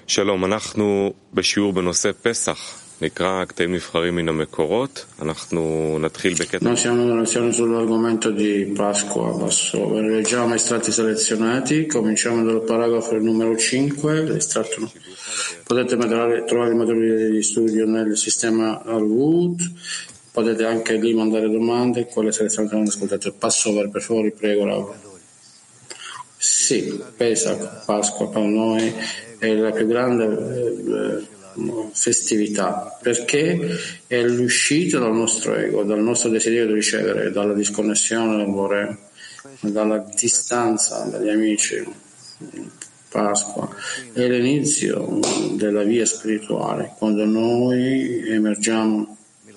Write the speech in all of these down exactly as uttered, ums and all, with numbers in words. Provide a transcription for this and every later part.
שלום, אנחנו בשיעור בנושא פסח, נקרא קטעים נבחרים מן המקורות, אנחנו נתחיל בקטע... Noi siamo in lezione sull'argomento di Pasqua, Passover. Leggiamo estratti selezionati, cominciamo dal paragrafo numero cinque, l'estratto. Potete mettere, trovare i materiali di studio nel sistema Arwood, potete anche lì mandare domande, quelle selezionate non ascoltate. Passover, per favore, prego, Laura. Sì, Pesach, Pasqua per noi è la più grande eh, festività, perché è l'uscita dal nostro ego, dal nostro desiderio di ricevere, dalla disconnessione dall'amore, dalla distanza dagli amici. Pasqua è l'inizio della via spirituale, quando noi emergiamo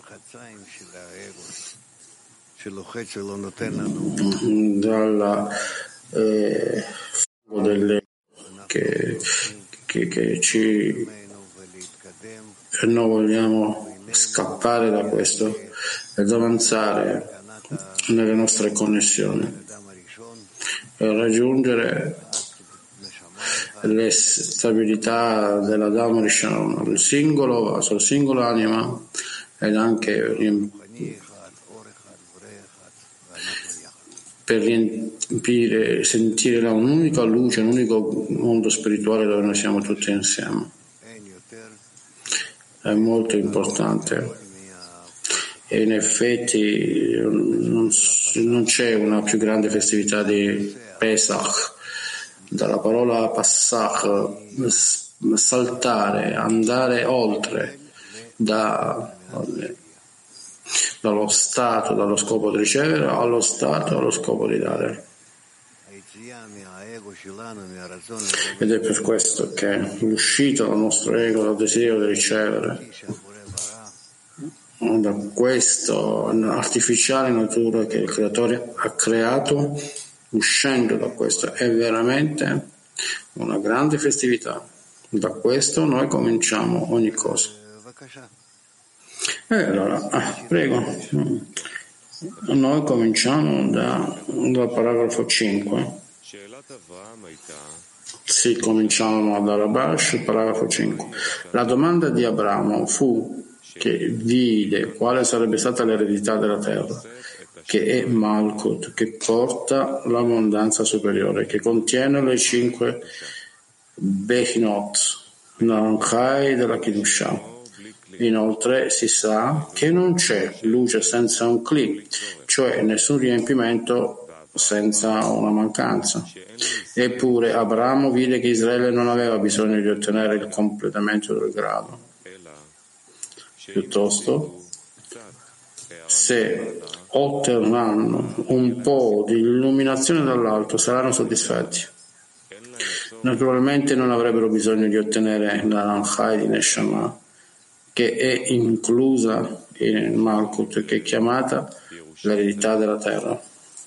dalla eh, delle che, che, che ci e noi vogliamo scappare da questo ed avanzare nelle nostre connessioni e raggiungere le stabilità della Dhamma Rishon, il singolo vaso, il singolo anima ed anche per riempire, sentire un'unica luce, un unico mondo spirituale dove noi siamo tutti insieme. È molto importante e in effetti non, non c'è una più grande festività di Pesach. Dalla parola Passach, saltare, andare oltre da, dallo stato, dallo scopo di ricevere allo stato, allo scopo di dare. Ed è per questo che l'uscita dal nostro ego, dal desiderio di ricevere, da questa artificiale natura che il creatore ha creato, uscendo da questo è veramente una grande festività. Da questo noi cominciamo ogni cosa. E allora, ah, prego, noi cominciamo da, dal paragrafo cinque. Sì, cominciamo dalla Rabash, paragrafo cinque. La domanda di Abramo fu che vide quale sarebbe stata l'eredità della terra, che è Malkut, che porta l'abbondanza superiore, che contiene le cinque Bechinot, Naranjai della Kiddushah. Inoltre si sa che non c'è luce senza un Kli, cioè nessun riempimento senza una mancanza. Eppure Abramo vide che Israele non aveva bisogno di ottenere il completamento del grado. Piuttosto, se otterranno un po' di illuminazione dall'alto, saranno soddisfatti. Naturalmente non avrebbero bisogno di ottenere la Ranchai di Neshama, che è inclusa in Malkut, che è chiamata l'eredità della terra.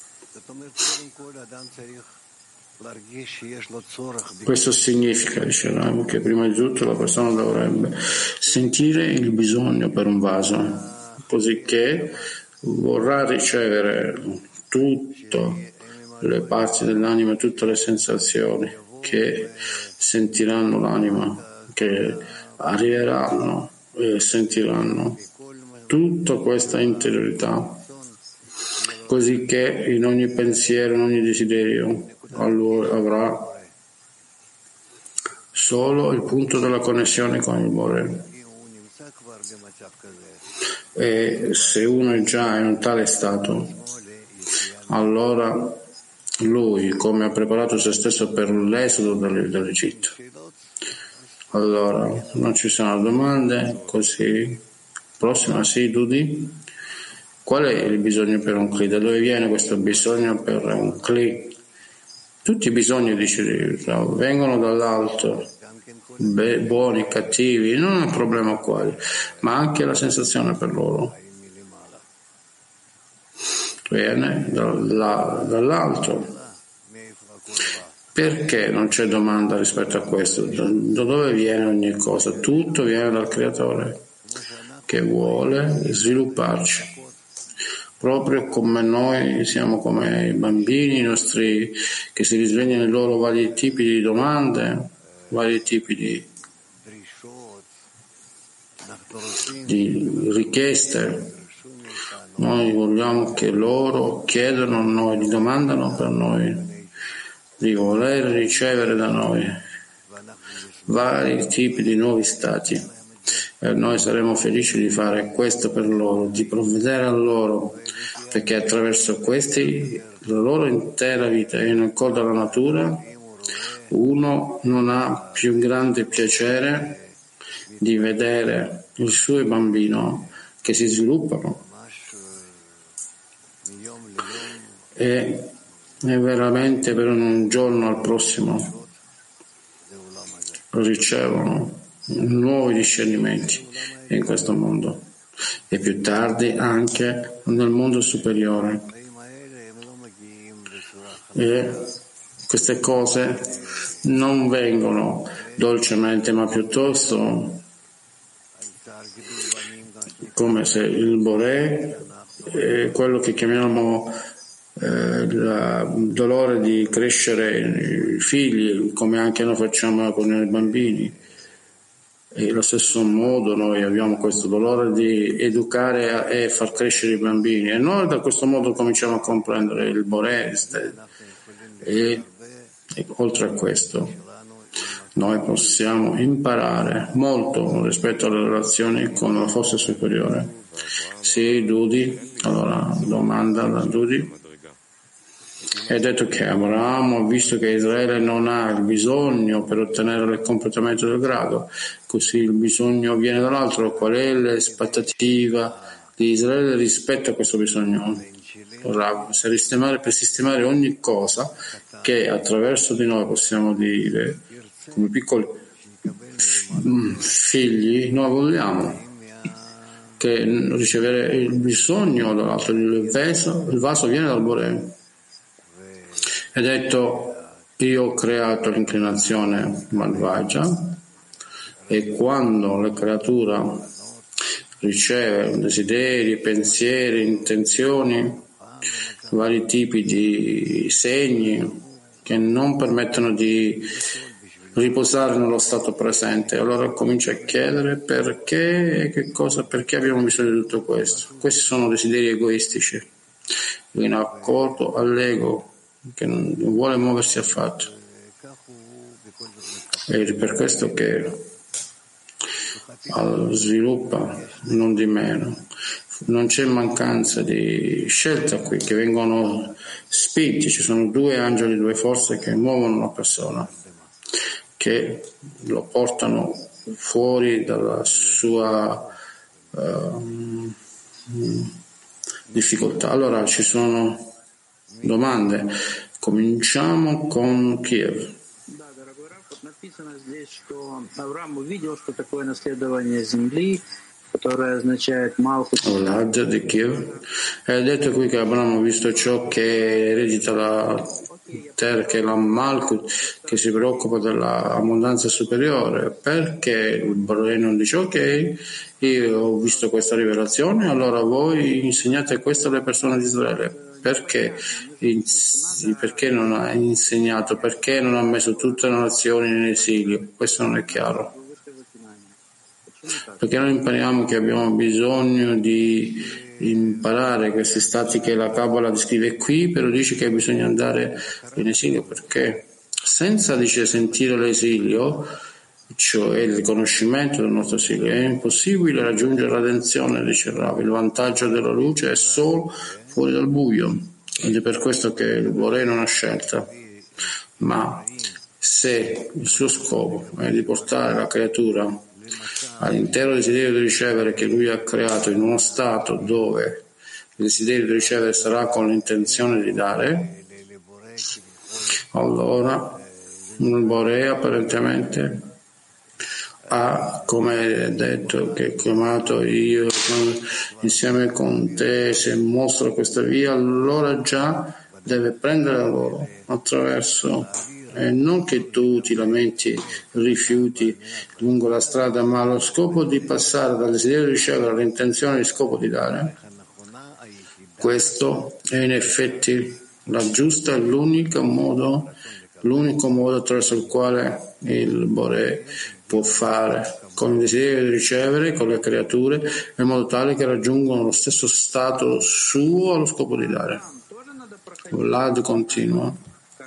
Questo significa, dicevamo, che prima di tutto la persona dovrebbe sentire il bisogno per un vaso, così che vorrà ricevere tutte le parti dell'anima, tutte le sensazioni che sentiranno l'anima, che arriveranno e sentiranno tutta questa interiorità, così che in ogni pensiero, in ogni desiderio, allora avrà solo il punto della connessione con il Bore. E se uno è già in un tale stato, allora lui, come ha preparato se stesso per l'esodo dall'Egitto, allora non ci sono domande, così prossima, sì, Dudi. Qual è il bisogno per un Kli? Da dove viene questo bisogno per un Kli? Tutti i bisogni, dice, vengono dall'alto, be- buoni, cattivi, non è un problema quale, ma anche la sensazione per loro viene dalla, dall'alto. Perché non c'è domanda rispetto a questo? Da, da dove viene ogni cosa? Tutto viene dal Creatore, che vuole svilupparci. Proprio come noi siamo come i bambini, i nostri che si risvegliano i loro vari tipi di domande, vari tipi di di richieste. Noi vogliamo che loro chiedano a noi, li domandano per noi, di voler ricevere da noi vari tipi di nuovi stati. E noi saremo felici di fare questo per loro, di provvedere a loro, perché attraverso questi la loro intera vita è in accordo alla natura. Uno non ha più grande piacere di vedere il suo bambino che si sviluppano e, e veramente per un giorno al prossimo ricevono nuovi discernimenti in questo mondo e più tardi anche nel mondo superiore. E queste cose non vengono dolcemente, ma piuttosto come se il Boré, eh, quello che chiamiamo eh, il dolore di crescere i figli, come anche noi facciamo con i bambini. E allo stesso modo noi abbiamo questo dolore di educare e far crescere i bambini, e noi da questo modo cominciamo a comprendere il Boré. E, e oltre a questo noi possiamo imparare molto rispetto alle relazioni con la forza superiore. Sì, Dudi, allora domanda da Dudi. È detto che Abramo ha visto che Israele non ha il bisogno per ottenere il completamento del grado, così il bisogno viene dall'altro. Qual è l'aspettativa di Israele rispetto a questo bisogno? Per sistemare, per sistemare ogni cosa che attraverso di noi possiamo dire come piccoli figli, noi vogliamo che ricevere il bisogno dall'altro, il vaso, il vaso viene dal Boré. È detto, io ho creato l'inclinazione malvagia, e quando la creatura riceve desideri, pensieri, intenzioni, vari tipi di segni che non permettono di riposare nello stato presente, allora comincia a chiedere perché, che cosa, perché abbiamo bisogno di tutto questo. Questi sono desideri egoistici, in accordo all'ego che non vuole muoversi affatto. E per questo che sviluppa non di meno. Non c'è mancanza di scelta qui, che vengono spinti. Ci sono due angeli, due forze che muovono una persona, che lo portano fuori dalla sua uh, difficoltà. Allora ci sono domande. Cominciamo con Kiev. Да, дорогой Раф, вот написано здесь, что Авраам увидел, что такое наследование земли, которое означает Малхут. di Kiev. È detto qui che Abramo ha visto ciò che eredita la terra, che è la Malkut, che si preoccupa dell'abbondanza superiore. Perché il Boré non dice ok, io ho visto questa rivelazione, allora voi insegnate questo alle persone di Israele. Perché? Perché non ha insegnato? Perché non ha messo tutte le nazioni in esilio? Questo non è chiaro. Perché noi impariamo che abbiamo bisogno di imparare questi stati che la Kabbalah descrive qui, però dice che bisogna andare in esilio. Perché? Senza, dice, sentire l'esilio, cioè il riconoscimento del nostro esilio, è impossibile raggiungere la redenzione, dice Rav. Il vantaggio della luce è solo fuori dal buio, ed è per questo che il Boré non ha scelta. Ma se il suo scopo è di portare la creatura all'intero desiderio di ricevere che lui ha creato in uno stato dove il desiderio di ricevere sarà con l'intenzione di dare, allora il Boré apparentemente ha, come detto, che ho chiamato io insieme con te, se mostra questa via, allora già deve prendere la loro attraverso, e non che tu ti lamenti, rifiuti lungo la strada, ma allo scopo di passare dal desiderio di ricevere all'intenzione di scopo di dare. Questo è in effetti la giusta, l'unico modo, l'unico modo attraverso il quale il Boré può fare con il desiderio di ricevere, con le creature, in modo tale che raggiungono lo stesso stato suo allo scopo di dare. Vlad continua.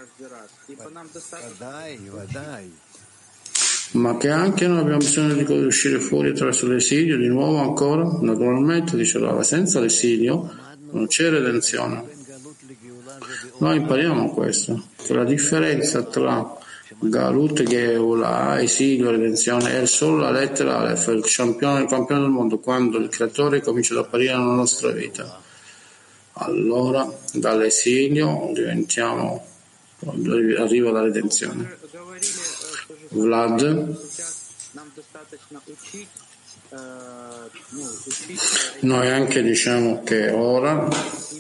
Ma che anche noi abbiamo bisogno di uscire fuori attraverso l'esilio, di nuovo ancora? Naturalmente, dice Rava, senza l'esilio non c'è redenzione. Noi impariamo questo, che la differenza tra Galut e Geula, esilio e redenzione, è solo la lettera Aleph, il campione, il campione del mondo, quando il creatore comincia ad apparire nella nostra vita. Allora dall'esilio diventiamo, arriva la redenzione. Vlad, noi anche diciamo che ora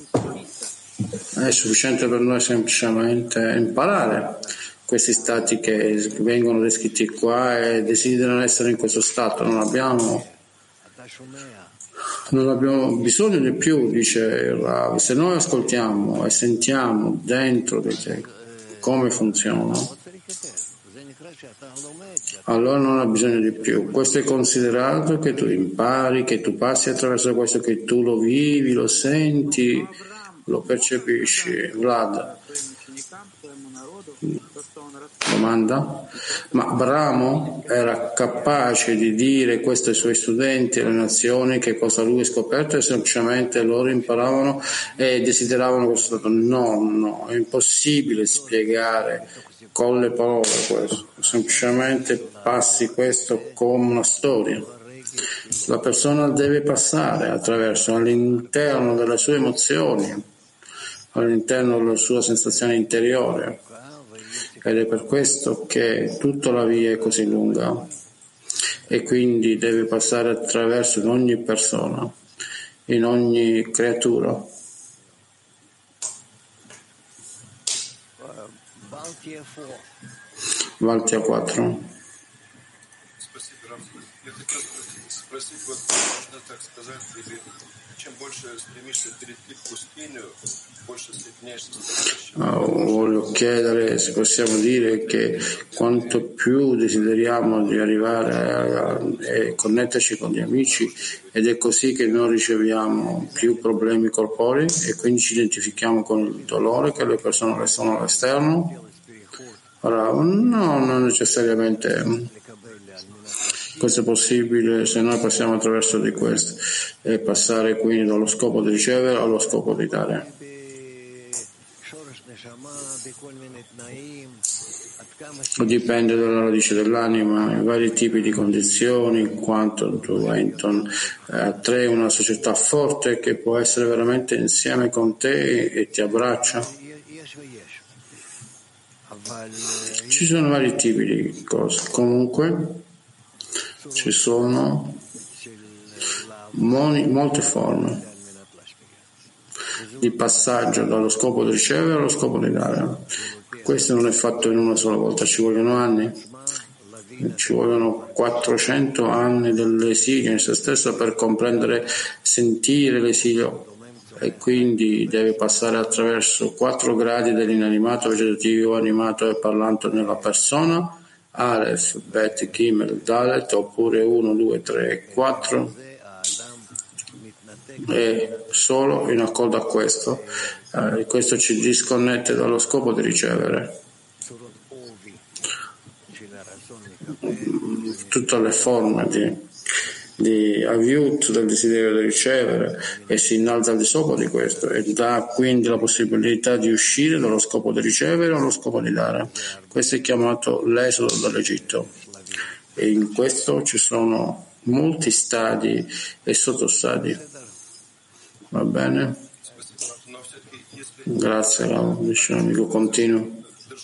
è sufficiente per noi semplicemente imparare questi stati che vengono descritti qua e desiderano essere in questo stato. Non abbiamo Non abbiamo bisogno di più, dice Rav. Se noi ascoltiamo e sentiamo dentro di te come funziona, allora non ha bisogno di più. Questo è considerato che tu impari, che tu passi attraverso questo, che tu lo vivi, lo senti, lo percepisci. Vlad. Domanda? Ma Brahmo era capace di dire questo ai suoi studenti, alle nazioni, che cosa lui ha scoperto, e semplicemente loro imparavano e desideravano questo stato? No, no, è impossibile spiegare con le parole questo, semplicemente passi questo come una storia. La persona deve passare attraverso, all'interno delle sue emozioni, all'interno della sua sensazione interiore. Ed è per questo che tutta la via è così lunga e quindi deve passare attraverso in ogni persona, in ogni creatura. Valtia quattro. Oh, voglio chiedere se possiamo dire che quanto più desideriamo di arrivare a, a, a connetterci con gli amici, ed è così che noi riceviamo più problemi corporei e quindi ci identifichiamo con il dolore che le persone restano all'esterno. Ora, no, non necessariamente. Questo è possibile se noi passiamo attraverso di questo e passare quindi dallo scopo di ricevere allo scopo di dare. Dipende dalla radice dell'anima, i vari tipi di condizioni, quanto tu attrae una società forte che può essere veramente insieme con te e ti abbraccia. Ci sono vari tipi di cose. Comunque ci sono moni, molte forme di passaggio dallo scopo di ricevere allo scopo di dare. Questo non è fatto in una sola volta, ci vogliono anni, ci vogliono quattrocento anni dell'esilio in se stesso per comprendere, sentire l'esilio, e quindi deve passare attraverso quattro gradi dell'inanimato, vegetativo, animato e parlante nella persona, Aleph, Bet, Gimel, Dalet, oppure uno, due, tre e quattro, e solo in accordo a questo, eh, questo ci disconnette dallo scopo di ricevere. Tutte le forme di, di aviut del desiderio di ricevere, e si innalza al di sopra di questo e dà quindi la possibilità di uscire dallo scopo di ricevere allo scopo di dare. Questo è chiamato l'esodo dall'Egitto, e in questo ci sono molti stadi e sottostadi. Va bene? Grazie, dice l'amico, continuo.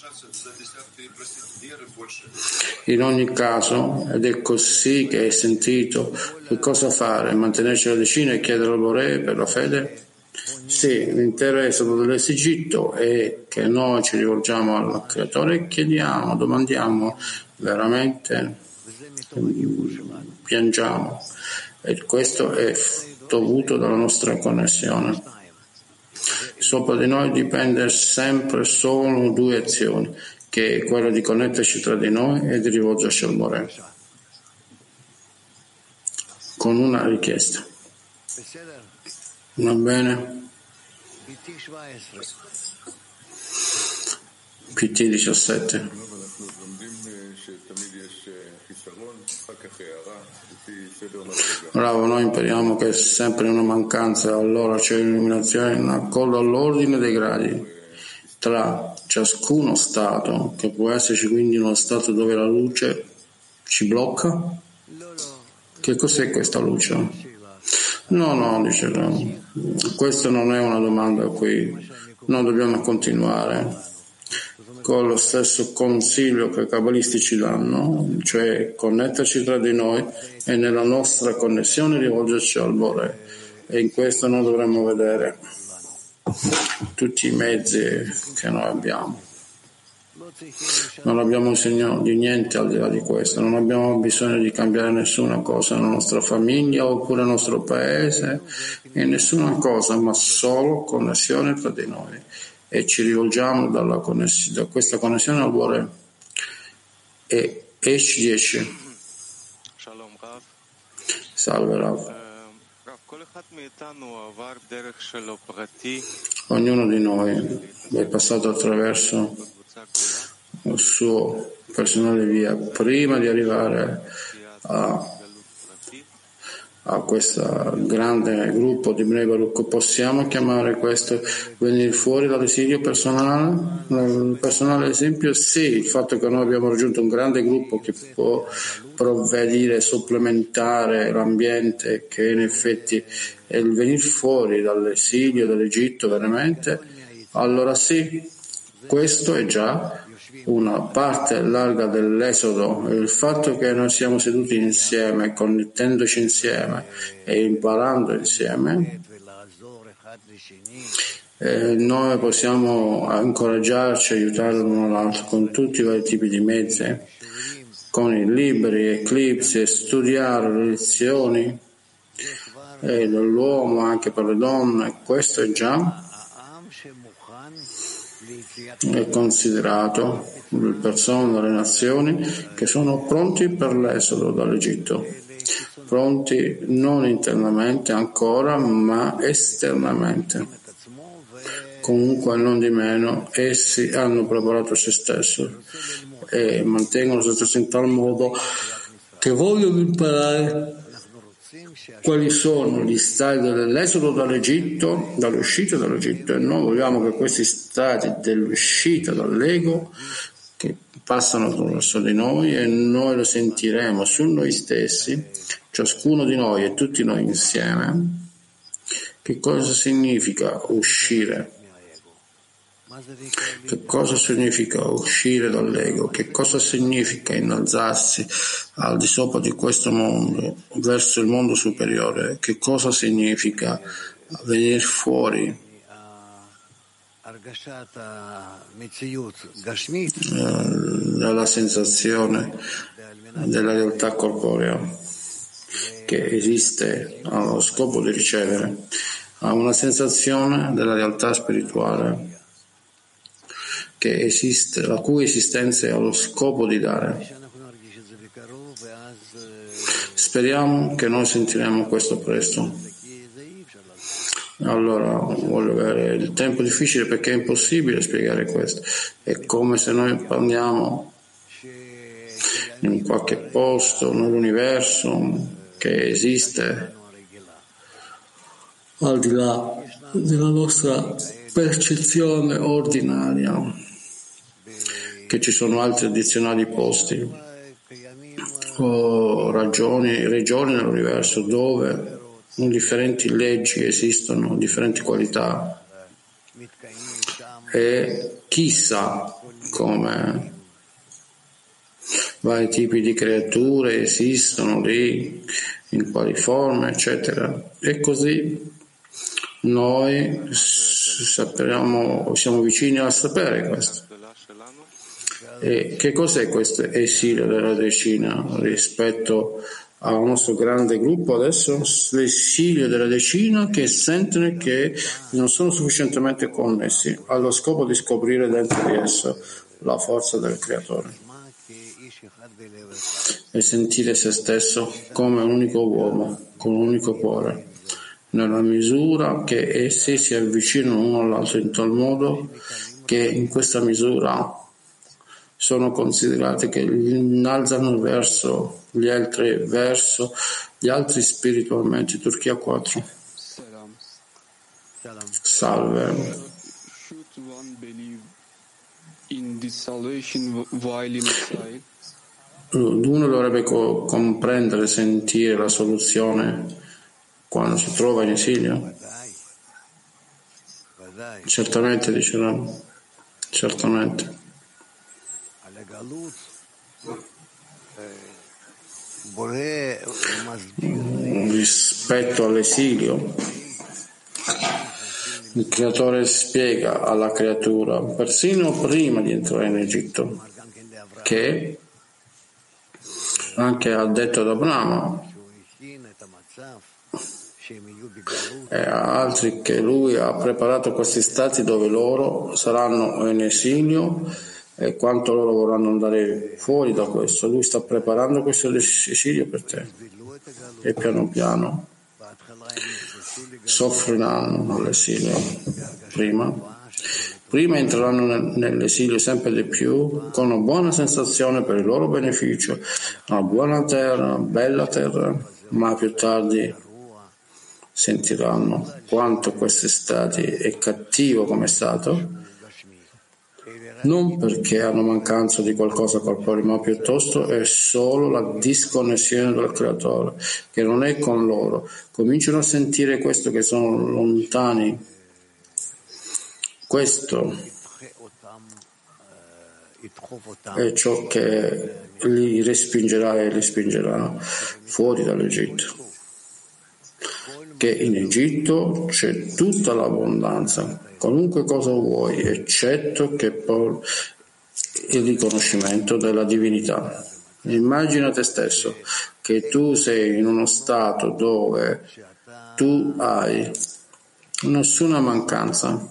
In ogni caso, ed è così che hai sentito, che cosa fare? Mantenerci la decina e chiedere al Boré per la fede? Sì, l'intero esodo dell'Egitto è che noi ci rivolgiamo al Creatore e chiediamo, domandiamo, veramente piangiamo, e questo è dovuto dalla nostra connessione. Sopra di noi dipende sempre solo due azioni, che è quello di connetterci tra di noi e di rivolgerci al Boré. con una richiesta. Va bene? P T diciassette. Bravo, noi impariamo che è sempre una mancanza, allora c'è un'illuminazione in accordo all'ordine dei gradi tra ciascuno stato, che può esserci quindi uno stato dove la luce ci blocca. Che cos'è questa luce? No, no, dice no. Questa non è una domanda qui. Noi dobbiamo continuare con lo stesso consiglio che i cabalisti ci danno, cioè connetterci tra di noi e nella nostra connessione rivolgerci al Bore. E in questo noi dovremmo vedere tutti i mezzi che noi abbiamo. Non abbiamo bisogno di niente al di là di questo, non abbiamo bisogno di cambiare nessuna cosa nella nostra famiglia oppure nel nostro paese, e nessuna cosa, ma solo connessione tra di noi. E ci rivolgiamo dalla conness- da questa connessione al Bore. E esci dieci. Salve Rav. Ognuno di noi è passato attraverso il suo personale via prima di arrivare a a questo grande gruppo di Bnei Baruch. Possiamo chiamare questo venire fuori dall'esilio personale? Il personale esempio? Sì, il fatto che noi abbiamo raggiunto un grande gruppo che può provvedere, supplementare l'ambiente, che in effetti è il venire fuori dall'esilio, dall'Egitto veramente, allora sì, questo è già una parte larga dell'esodo. Il fatto che noi siamo seduti insieme, connettendoci insieme e imparando insieme, eh, noi possiamo incoraggiarci, aiutare l'uno l'altro con tutti i vari tipi di mezzi, con i libri, eclipsi, studiare le lezioni eh, dell'uomo anche per le donne. Questo è già è considerato le persone, le nazioni che sono pronti per l'esodo dall'Egitto, pronti non internamente ancora ma esternamente. Comunque non di meno essi hanno preparato se stesso e mantengono se stesso in tal modo che vogliono imparare quali sono gli stati dell'esodo dall'Egitto, dall'uscita dall'Egitto, e noi vogliamo che questi stati dell'uscita dall'ego che passano attraverso di noi e noi lo sentiremo su noi stessi, ciascuno di noi e tutti noi insieme, che cosa significa uscire. Che cosa significa uscire dall'ego? Che cosa significa innalzarsi al di sopra di questo mondo, verso il mondo superiore? Che cosa significa venire fuori eh, dalla sensazione della realtà corporea che esiste allo scopo di ricevere, a una sensazione della realtà spirituale che esiste, la cui esistenza è allo scopo di dare. Speriamo che noi sentiremo questo presto. Allora, voglio avere il tempo difficile perché è impossibile spiegare questo. È come se noi parliamo in qualche posto nell'universo che esiste al di là della nostra percezione ordinaria, che ci sono altri addizionali posti o ragioni, regioni nell'universo dove differenti leggi esistono, differenti qualità, e chissà come vari tipi di creature esistono lì, in quali forme, eccetera. E così noi sappiamo, siamo vicini a sapere questo. E che cos'è questo esilio della decina rispetto al nostro grande gruppo adesso? L'esilio della decina che sentono che non sono sufficientemente connessi allo scopo di scoprire dentro di esso la forza del creatore. e sentire se stesso come un unico uomo, con un unico cuore, nella misura che essi si avvicinano uno all'altro in tal modo che in questa misura sono considerati che innalzano verso gli altri, verso gli altri spiritualmente. Turchia quattro. Salve. Uno dovrebbe co- comprendere, sentire la soluzione quando si trova in esilio? Certamente, dicevamo. Certamente. Rispetto all'esilio, il creatore spiega alla creatura, persino prima di entrare in Egitto, che anche ha detto ad Abramo e a altri che lui ha preparato questi stati dove loro saranno in esilio e quanto loro vorranno andare fuori da questo. Lui sta preparando questo esilio per te e piano piano soffriranno all'esilio. Prima Prima entreranno nell'esilio sempre di più con una buona sensazione per il loro beneficio, una buona terra, una bella terra, ma più tardi sentiranno quanto questo stato è cattivo come stato, non perché hanno mancanza di qualcosa corporeo, ma piuttosto è solo la disconnessione dal creatore, che non è con loro. Cominciano a sentire questo, che sono lontani. Questo è ciò che li respingerà e li spingerà fuori dall'Egitto. Che in Egitto c'è tutta l'abbondanza, qualunque cosa vuoi, eccetto che poi il riconoscimento della divinità. Immagina te stesso che tu sei in uno stato dove tu hai nessuna mancanza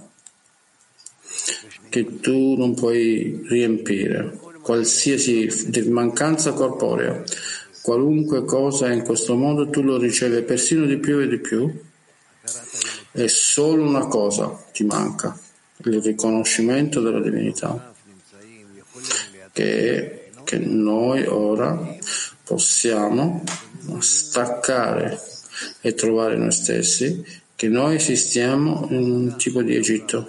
che tu non puoi riempire, qualsiasi mancanza corporea, qualunque cosa in questo mondo tu lo ricevi persino di più e di più, è solo una cosa ti manca, il riconoscimento della divinità, che è che noi ora possiamo staccare e trovare noi stessi, che noi esistiamo in un tipo di Egitto,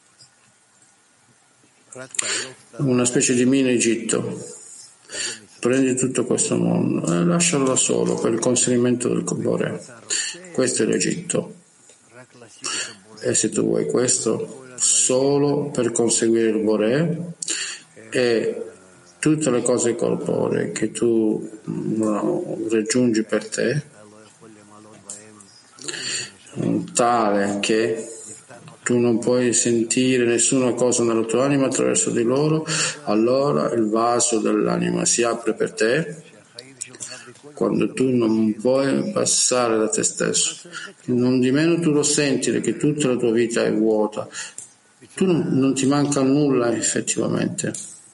una specie di mini Egitto. Prendi tutto questo mondo e lascialo da solo per il conseguimento del Bore. Questo è l'Egitto. E se tu vuoi questo solo per conseguire il Bore e tutte le cose corporee che tu no, raggiungi per te, tale che tu non puoi sentire nessuna cosa nella tua anima attraverso di loro, allora il vaso dell'anima si apre per te quando tu non puoi passare da te stesso. Non di meno tu lo senti che tutta la tua vita è vuota, tu non, non ti manca nulla effettivamente,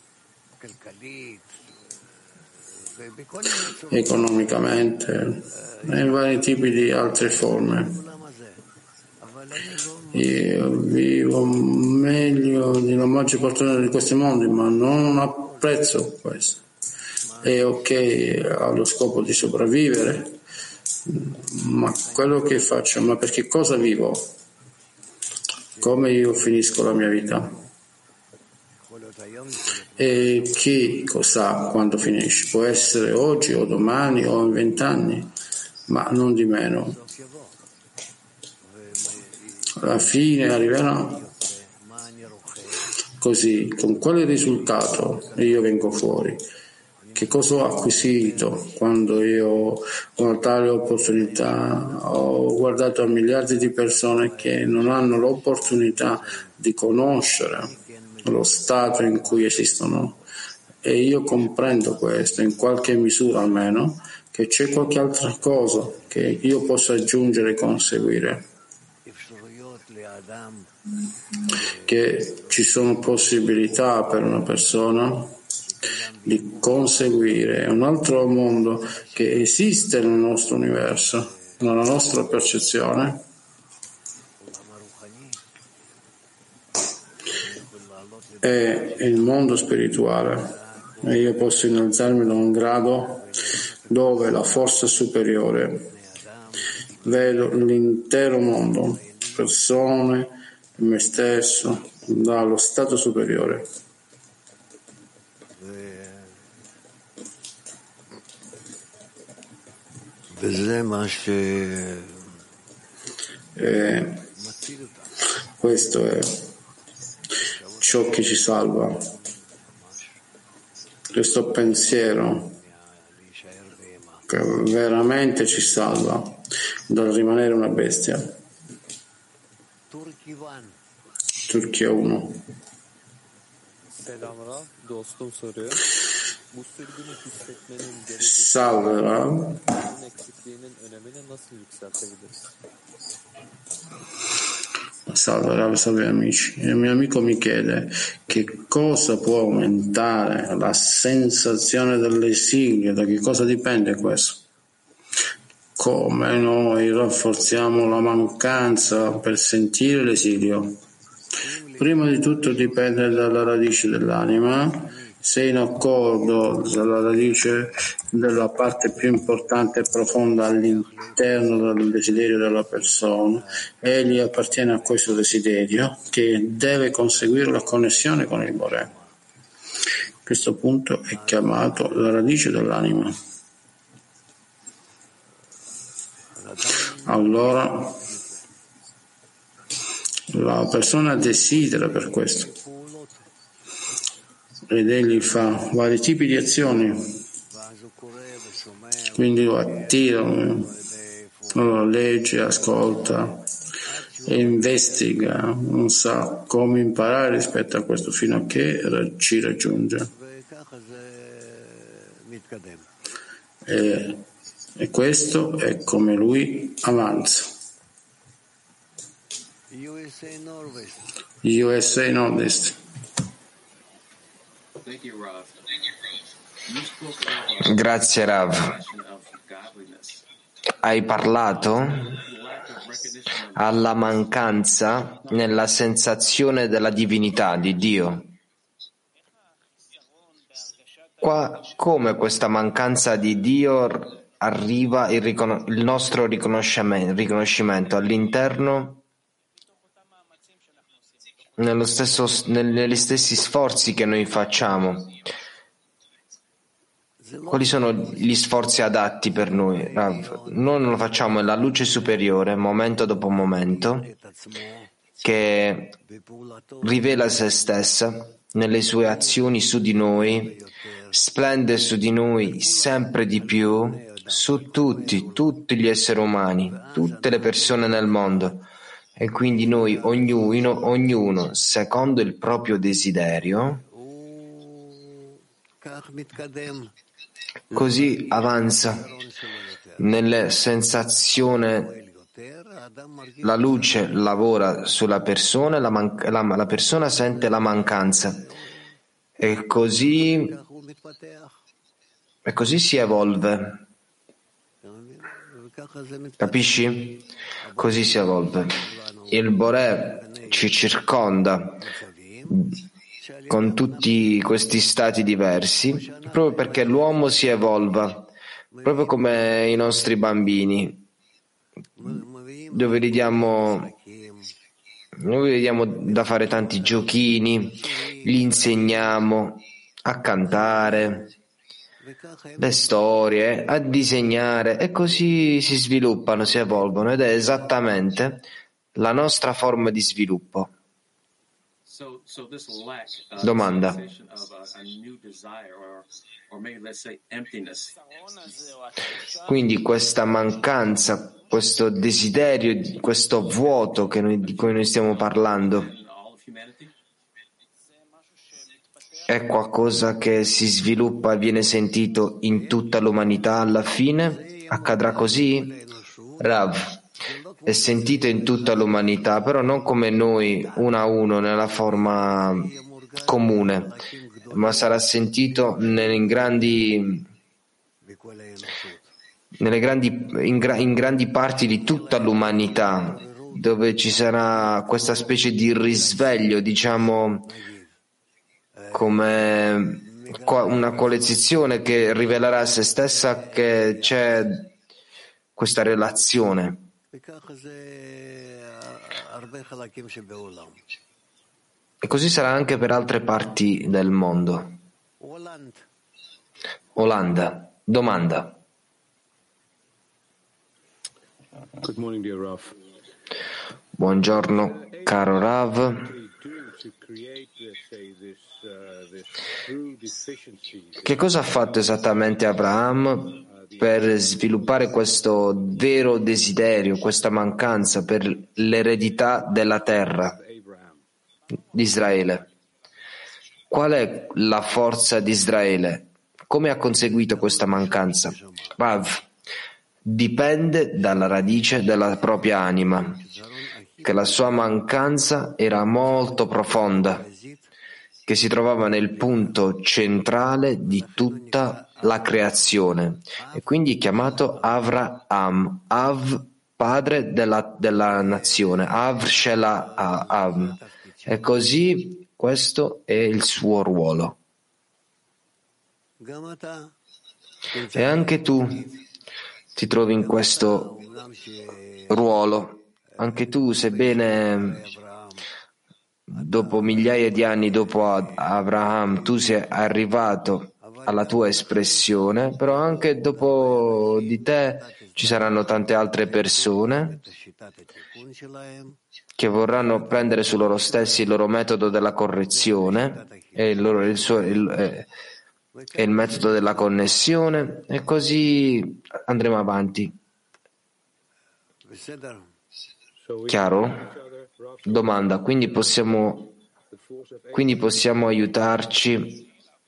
economicamente e in vari tipi di altre forme. Io vivo meglio della maggior parte di questi mondi, ma non apprezzo questo. È ok, ha lo scopo di sopravvivere, ma quello che faccio, ma perché cosa vivo? Come io finisco la mia vita? E chi sa quando finisce? Può essere oggi o domani o in vent'anni, ma non di meno. Alla fine arriverà. Così, con quale risultato io vengo fuori? Che cosa ho acquisito quando io ho una tale opportunità? Ho guardato a miliardi di persone che non hanno l'opportunità di conoscere lo stato in cui esistono, e io comprendo questo in qualche misura almeno, che c'è qualche altra cosa che io posso aggiungere e conseguire, che ci sono possibilità per una persona di conseguire un altro mondo che esiste nel nostro universo, nella nostra percezione, è il mondo spirituale, e io posso innalzarmi da un grado dove la forza superiore vedo l'intero mondo, persone, me stesso, dallo stato superiore. E questo è ciò che ci salva, questo pensiero che veramente ci salva dal rimanere una bestia. Turchia uno. Selam Rav, dostum soruyor. Bu sürgünü hissetmenin Salve Rav. derecesinin eksikliğinin önemini nasıl yükseltebiliriz? Salve Rav, salve amici. Il mio amico mi chiede che cosa può aumentare la sensazione dell'esilio, da che cosa dipende questo? Come noi rafforziamo la mancanza per sentire l'esilio? Prima di tutto dipende dalla radice dell'anima, se in accordo dalla radice della parte più importante e profonda all'interno del desiderio della persona, egli appartiene a questo desiderio che deve conseguire la connessione con il Boré. Questo punto è chiamato la radice dell'anima. Allora la persona desidera per questo ed egli fa vari tipi di azioni, quindi lo attira, lo legge, ascolta e investiga, non sa come imparare rispetto a questo fino a che ci raggiunge. E, e questo è come lui avanza. U S A Nord-Est. Grazie Rav. Hai parlato alla mancanza nella sensazione della divinità di Dio. Qua, come questa mancanza di Dio arriva il, ricon- il nostro riconoscimento, riconoscimento all'interno, nello stesso, negli stessi sforzi che noi facciamo? Quali sono gli sforzi adatti per noi, Rav? Noi lo facciamo nella luce superiore, momento dopo momento, che rivela se stessa nelle sue azioni su di noi, splende su di noi sempre di più, su tutti, tutti gli esseri umani, tutte le persone nel mondo. E quindi noi, ognuno, ognuno, secondo il proprio desiderio, così avanza nella sensazione. La luce lavora sulla persona, la, man- la, la persona sente la mancanza e così, e così si evolve. Capisci? Così si evolve. Il Boré ci circonda con tutti questi stati diversi, proprio perché l'uomo si evolva, proprio come i nostri bambini, dove gli diamo, noi gli diamo da fare tanti giochini, gli insegniamo a cantare, le storie, a disegnare, e così si sviluppano, si evolvono, ed è esattamente la nostra forma di sviluppo. Domanda. Quindi questa mancanza, questo desiderio, questo vuoto che noi, di cui noi stiamo parlando, è qualcosa che si sviluppa e viene sentito in tutta l'umanità alla fine? Accadrà così? Rav, è sentito in tutta l'umanità, però non come noi, uno a uno, nella forma comune. ma sarà sentito nelle grandi, nelle grandi, in, gra, in grandi parti di tutta l'umanità, dove ci sarà questa specie di risveglio, diciamo, come una coalizione che rivelerà a se stessa che c'è questa relazione. E così sarà anche per altre parti del mondo. Olanda, domanda. Good morning, dear Rav. Buongiorno, caro Rav. Che cosa ha fatto esattamente Abraham per sviluppare questo vero desiderio, questa mancanza per l'eredità della terra di Israele? Qual è la forza di Israele? Come ha conseguito questa mancanza? Rav, dipende dalla radice della propria anima, che la sua mancanza era molto profonda, che si trovava nel punto centrale di tutta la creazione, e quindi chiamato Avraham, Av, padre della, della nazione, Av Shela Av. E così questo è il suo ruolo. E anche tu ti trovi in questo ruolo. Anche tu, sebbene dopo migliaia di anni dopo Abraham tu sei arrivato alla tua espressione, però anche dopo di te ci saranno tante altre persone che vorranno prendere su loro stessi il loro metodo della correzione e il, loro, il, suo, il, eh, e il metodo della connessione, e così andremo avanti. Chiaro? Domanda, quindi possiamo, quindi possiamo aiutarci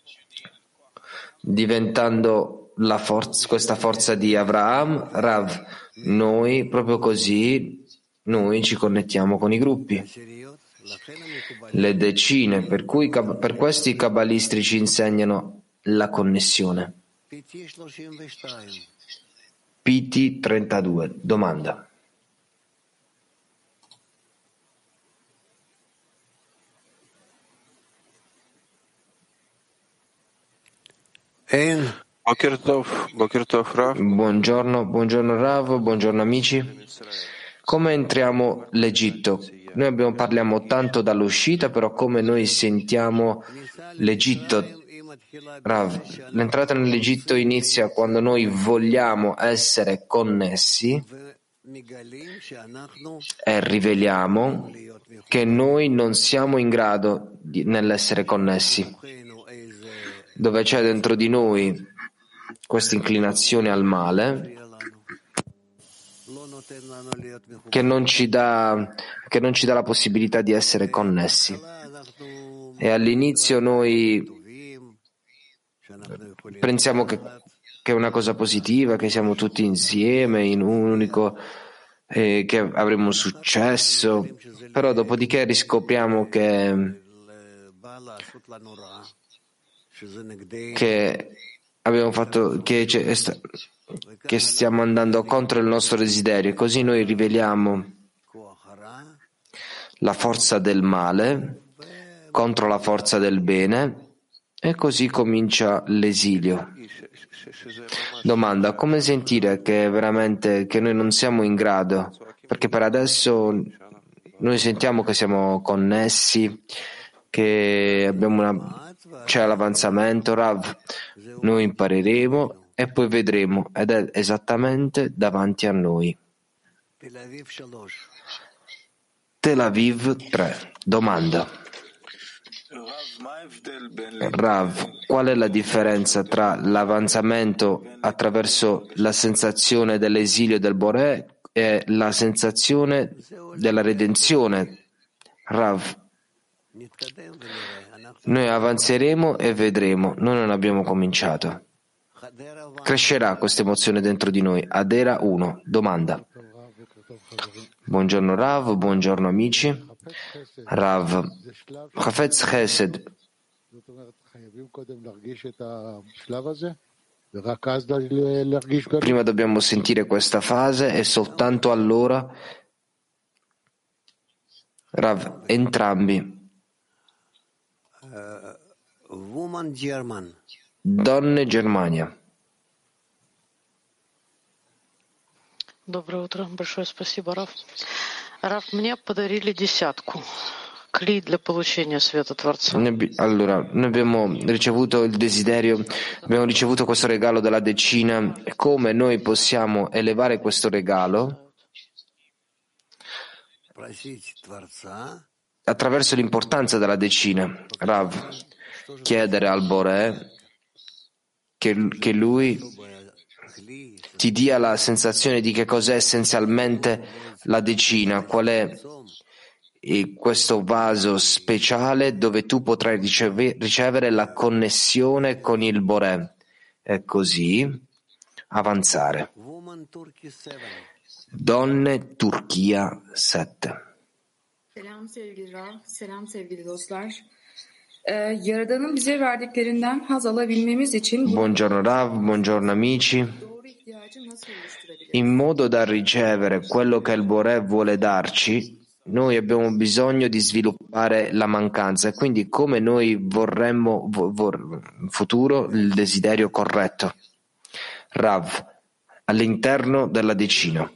diventando la forza, questa forza di Avraham? Rav, noi proprio così noi ci connettiamo con i gruppi, le decine, per cui per questo i cabalisti ci insegnano la connessione. P T trentadue, domanda. Buongiorno, buongiorno Rav, buongiorno amici. Come entriamo l'Egitto? Noi abbiamo, parliamo tanto dall'uscita, però come noi sentiamo l'Egitto? Rav, l'entrata nell'Egitto inizia quando noi vogliamo essere connessi e riveliamo che noi non siamo in grado di, nell'essere connessi, dove c'è dentro di noi questa inclinazione al male che non ci dà, che non ci dà la possibilità di essere connessi. E all'inizio noi pensiamo che, che è una cosa positiva, che siamo tutti insieme in un unico, eh, che avremo successo, però dopodiché riscopriamo che che abbiamo fatto che, che stiamo andando contro il nostro desiderio, e così noi riveliamo la forza del male contro la forza del bene, e così comincia l'esilio. Domanda, come sentire che veramente che noi non siamo in grado, perché per adesso noi sentiamo che siamo connessi, che abbiamo una c'è l'avanzamento, Rav, noi impareremo e poi vedremo, ed è esattamente davanti a noi. Tel Aviv tre, domanda. Rav, qual è la differenza tra l'avanzamento attraverso la sensazione dell'esilio del Boré e la sensazione della redenzione? Rav, noi avanzeremo e vedremo, noi non abbiamo cominciato. Crescerà questa emozione dentro di noi. Adera uno, domanda. Buongiorno Rav, buongiorno amici. Rav, Hafetz Chesed Prima dobbiamo sentire questa fase e soltanto allora, Rav, entrambi. Woman German. Donne Germania. Доброе утро. Большое спасибо, Раф. Раф, мне подарили десятку. Кли для получения света Творца. Allora, noi abbiamo ricevuto il desiderio, abbiamo ricevuto questo regalo della decina. Come noi possiamo elevare questo regalo? Attraverso l'importanza della decina. Rav, chiedere al Boré che, che lui ti dia la sensazione di che cos'è essenzialmente la decina, qual è questo vaso speciale dove tu potrai riceve, ricevere la connessione con il Boré e così avanzare. Donne Turchia sette. Selam sevgili Rav, selam sevgili dostlar. Ee, Yaradan'ın bize verdiklerinden haz alabilmemiz için buongiorno Rav, buongiorno amici. Doğru ihtiyacı nasıl oluşturabiliriz? In modo da ricevere quello che il Boré vuole darci, noi abbiamo bisogno di sviluppare la mancanza e quindi come noi vorremmo in futuro il desiderio corretto. Rav, all'interno della decina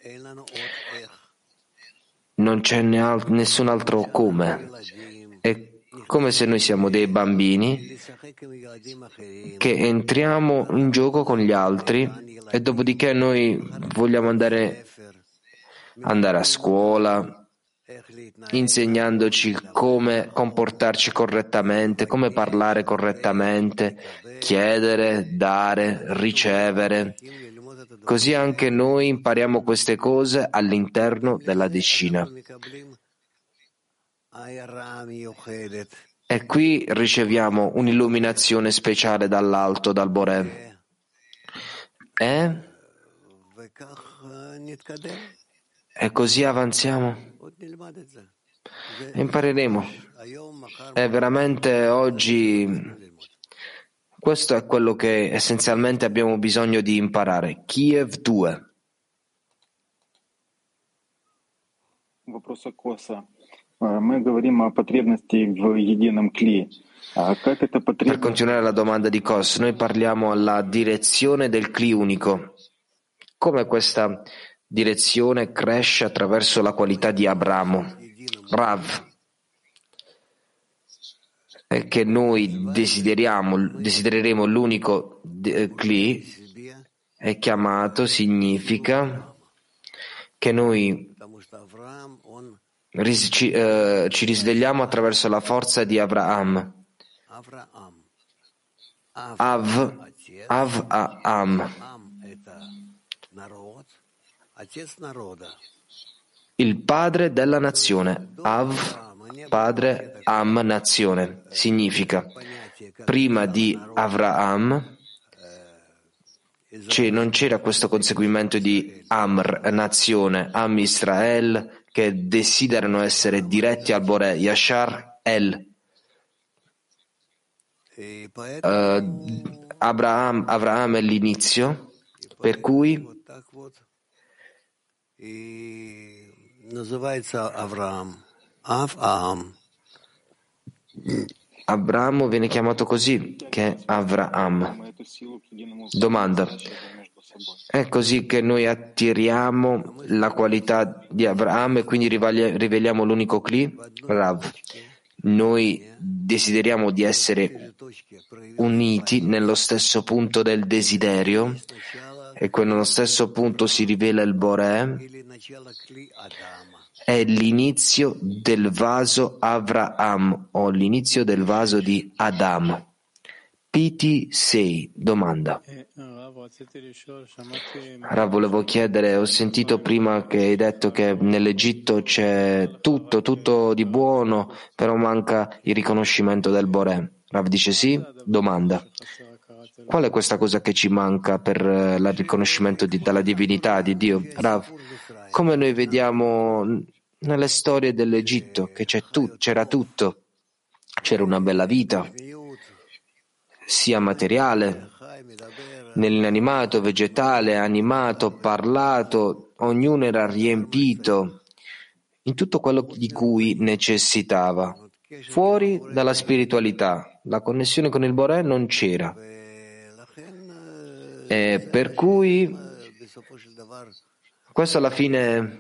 non c'è nessun altro come. È come se noi siamo dei bambini che entriamo in gioco con gli altri e dopodiché noi vogliamo andare, andare a scuola insegnandoci come comportarci correttamente, come parlare correttamente, chiedere, dare, ricevere. Così anche noi impariamo queste cose all'interno della decina. E qui riceviamo un'illuminazione speciale dall'alto, dal Boré. E? E così avanziamo. E impareremo. E veramente oggi questo è quello che essenzialmente abbiamo bisogno di imparare. Kiev due. Вопрос Коса. Мы говорим о потребности в едином кли. Как эта потребность... Per continuare la domanda di Kos, noi parliamo alla direzione del Kli unico. Come questa direzione cresce attraverso la qualità di Abramo, Rav, e che noi desideriamo, desidereremo l'unico Kli, è chiamato, significa che noi ci, eh, ci risvegliamo attraverso la forza di Avraham. Av, Av, Am. Il padre della nazione. Av, padre, Am, nazione. Significa, prima di Avraham cioè, non c'era questo conseguimento di Amr, nazione, Am Israel, che desiderano essere diretti al Boré, Yashar El. Uh, Abraham, Avraham è l'inizio, per cui Abramo viene chiamato così, che è Avraham. Domanda. È così che noi attiriamo la qualità di Avraham e quindi riveliamo l'unico Kli? Rav. Noi desideriamo di essere uniti nello stesso punto del desiderio e nello stesso punto si rivela il Boré. È l'inizio del vaso Avraham o l'inizio del vaso di Adam. P T sei. Domanda. Rav, volevo chiedere, ho sentito prima che hai detto che nell'Egitto c'è tutto, tutto di buono, però manca il riconoscimento del Boré. Rav dice sì. Domanda. Qual è questa cosa che ci manca per il riconoscimento di, della divinità di Dio? Rav, come noi vediamo nelle storie dell'Egitto, che c'è tu, c'era tutto, c'era una bella vita, sia materiale, nell'inanimato, vegetale, animato, parlato, ognuno era riempito in tutto quello di cui necessitava. Fuori dalla spiritualità, la connessione con il Boré non c'era. E per cui questo alla fine,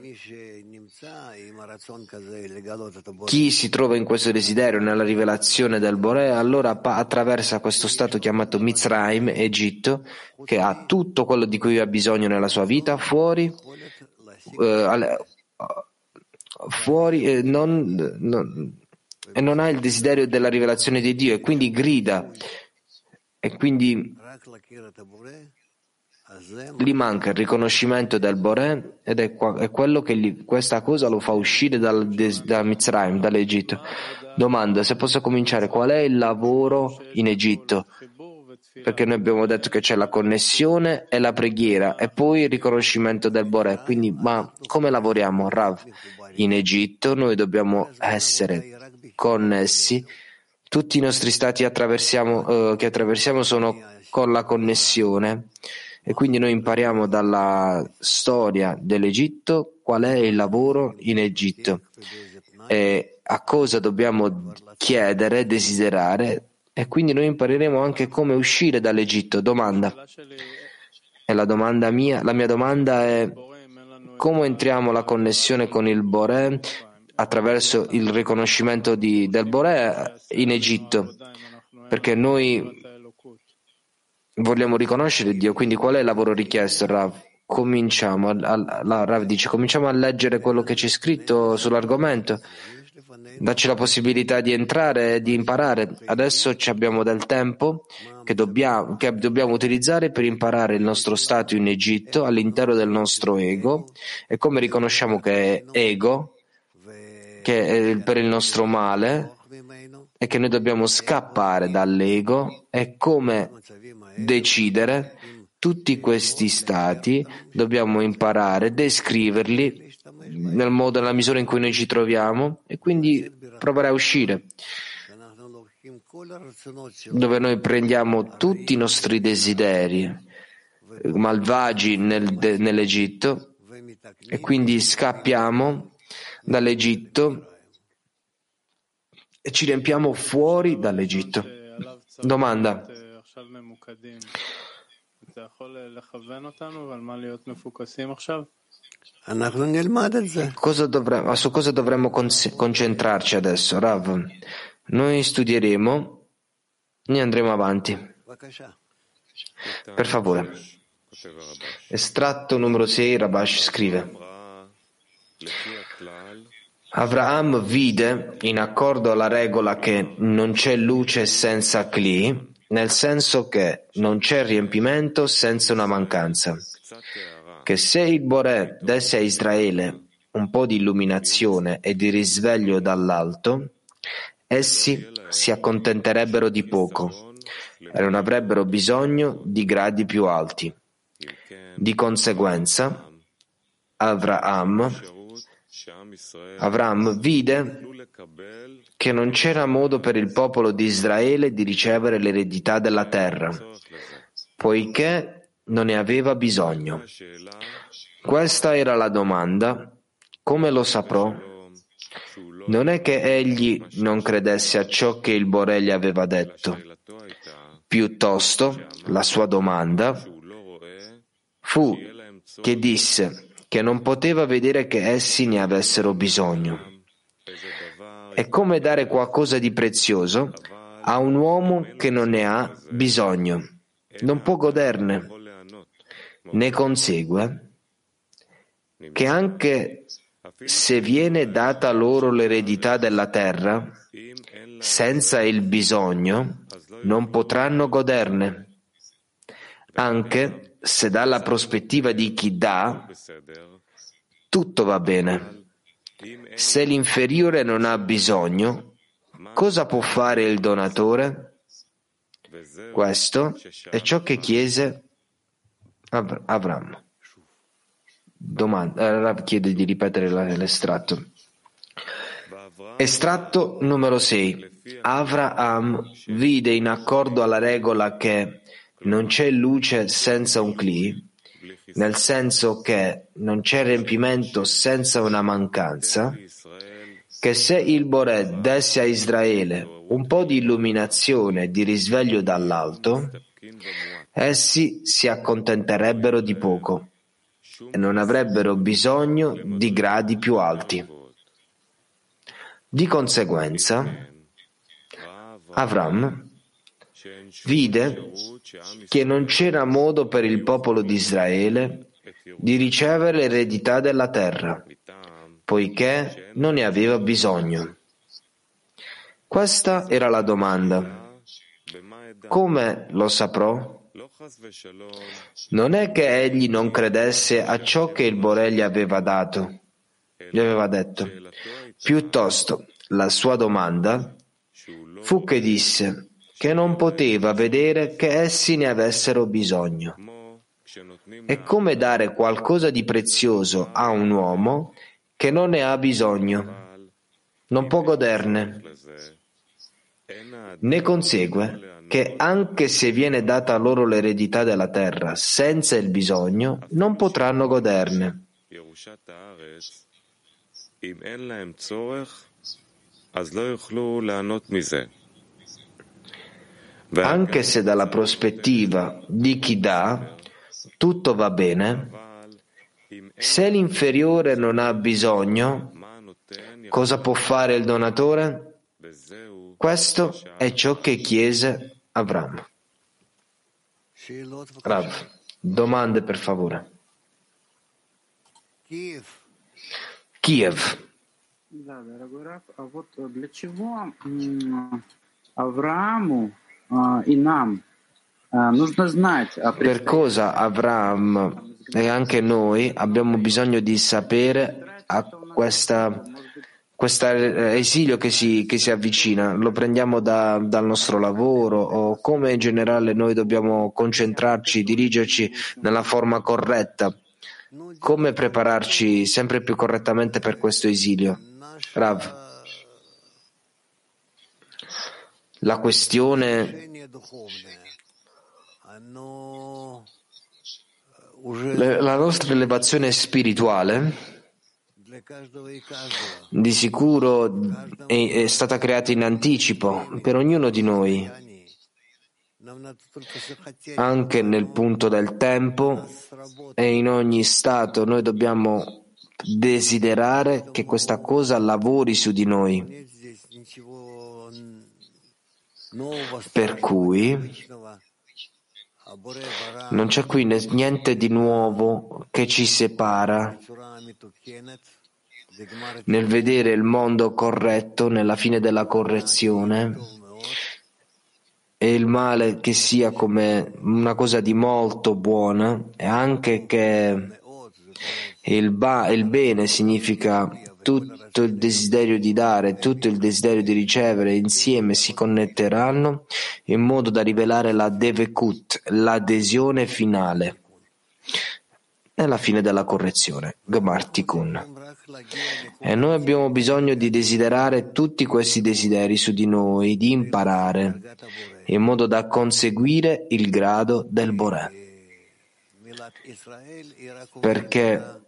chi si trova in questo desiderio, nella rivelazione del Boré, allora attraversa questo stato chiamato Mitzrayim, Egitto, che ha tutto quello di cui ha bisogno nella sua vita, fuori, eh, fuori eh, non, non, e non ha il desiderio della rivelazione di Dio, e quindi grida, e quindi gli manca il riconoscimento del Boré, ed è, qua, è quello che gli, questa cosa lo fa uscire dal, da Mitzrayim, dall'Egitto. Domanda: se posso cominciare, qual è il lavoro in Egitto? Perché noi abbiamo detto che c'è la connessione e la preghiera e poi il riconoscimento del Boré. Quindi, ma come lavoriamo, Rav? In Egitto noi dobbiamo essere connessi, tutti i nostri stati attraversiamo, eh, che attraversiamo sono con la connessione. E quindi noi impariamo dalla storia dell'Egitto qual è il lavoro in Egitto e a cosa dobbiamo chiedere, desiderare, e quindi noi impareremo anche come uscire dall'Egitto. Domanda. E la domanda mia, la mia domanda è: come entriamo la connessione con il Boré attraverso il riconoscimento di, del Boré in Egitto? Perché noi vogliamo riconoscere Dio, quindi qual è il lavoro richiesto, Rav? Cominciamo, a, la Rav dice, cominciamo a leggere quello che c'è scritto sull'argomento, dacci la possibilità di entrare e di imparare. Adesso abbiamo del tempo che dobbiamo, che dobbiamo utilizzare per imparare il nostro stato in Egitto all'interno del nostro ego, e come riconosciamo che è ego, che è per il nostro male, e che noi dobbiamo scappare dall'ego, e come decidere tutti questi stati, dobbiamo imparare a descriverli nel modo, nella misura in cui noi ci troviamo, e quindi provare a uscire, dove noi prendiamo tutti i nostri desideri malvagi nel, de, nell'Egitto, e quindi scappiamo dall'Egitto e ci riempiamo fuori dall'Egitto. Domanda. Cosa dovremmo, su cosa dovremmo concentrarci adesso, Rav? Noi studieremo e andremo avanti. Per favore. Estratto numero sei, Rabash scrive: Avraham vide, in accordo alla regola, che non c'è luce senza Kli, nel senso che non c'è riempimento senza una mancanza, che se il Boré desse a Israele un po' di illuminazione e di risveglio dall'alto, essi si accontenterebbero di poco e non avrebbero bisogno di gradi più alti. Di conseguenza, Avraham, Avraham vide che non c'era modo per il popolo di Israele di ricevere l'eredità della terra, poiché non ne aveva bisogno. Questa era la domanda: come lo saprò? Non è che egli non credesse a ciò che il Boré gli aveva detto. Piuttosto, la sua domanda fu che disse che non poteva vedere che essi ne avessero bisogno. È come dare qualcosa di prezioso a un uomo che non ne ha bisogno, non può goderne. Ne consegue che anche se viene data loro l'eredità della terra, senza il bisogno non potranno goderne. Anche se dalla prospettiva di chi dà, tutto va bene. Se l'inferiore non ha bisogno, cosa può fare il donatore? Questo è ciò che chiese Av- Avram. Domanda, Rav chiede di ripetere l'estratto. Estratto numero sei. Avraham vide, in accordo alla regola che non c'è luce senza un cli, nel senso che non c'è riempimento senza una mancanza, che se il Boré desse a Israele un po' di illuminazione e di risveglio dall'alto, essi si accontenterebbero di poco e non avrebbero bisogno di gradi più alti. Di conseguenza, Avram vide che non c'era modo per il popolo di Israele di ricevere l'eredità della terra, poiché non ne aveva bisogno. Questa era la domanda. Come lo saprò? Non è che egli non credesse a ciò che il Boré gli aveva dato, gli aveva detto. Piuttosto, la sua domanda fu che disse che non poteva vedere che essi ne avessero bisogno. È come dare qualcosa di prezioso a un uomo che non ne ha bisogno, non può goderne. Ne consegue che anche se viene data loro l'eredità della terra senza il bisogno, non potranno goderne. Anche se dalla prospettiva di chi dà tutto va bene, se l'inferiore non ha bisogno, cosa può fare il donatore? Questo è ciò che chiese Avram. Rav, domande per favore. Kiev. Да, дорогой Рав, а вот для чего Аврааму и нам нужно знать о Per cosa Avram e anche noi abbiamo bisogno di sapere a questa, questo esilio che si, che si avvicina? Lo prendiamo da, dal nostro lavoro o come in generale noi dobbiamo concentrarci, dirigerci nella forma corretta? Come prepararci sempre più correttamente per questo esilio? Rav, la questione, la nostra elevazione spirituale di sicuro è, è stata creata in anticipo per ognuno di noi, anche nel punto del tempo e in ogni stato noi dobbiamo desiderare che questa cosa lavori su di noi, per cui non c'è qui niente di nuovo che ci separa nel vedere il mondo corretto nella fine della correzione e il male che sia come una cosa di molto buona, e anche che il, ba- il bene significa tutto il desiderio di dare, tutto il desiderio di ricevere, insieme si connetteranno in modo da rivelare la devekut, l'adesione finale nella fine della correzione, Gemar Tikkun. E noi abbiamo bisogno di desiderare tutti questi desideri su di noi, di imparare, in modo da conseguire il grado del Boré. Perché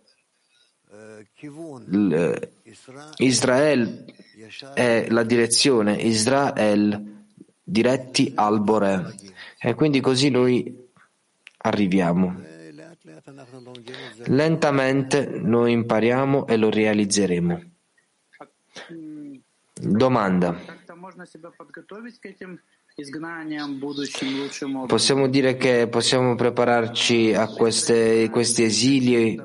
Israele è la direzione, Israel diretti al Boré. E quindi così noi arriviamo. Lentamente noi impariamo e lo realizzeremo. Domanda. Possiamo dire che possiamo prepararci a queste, questi esili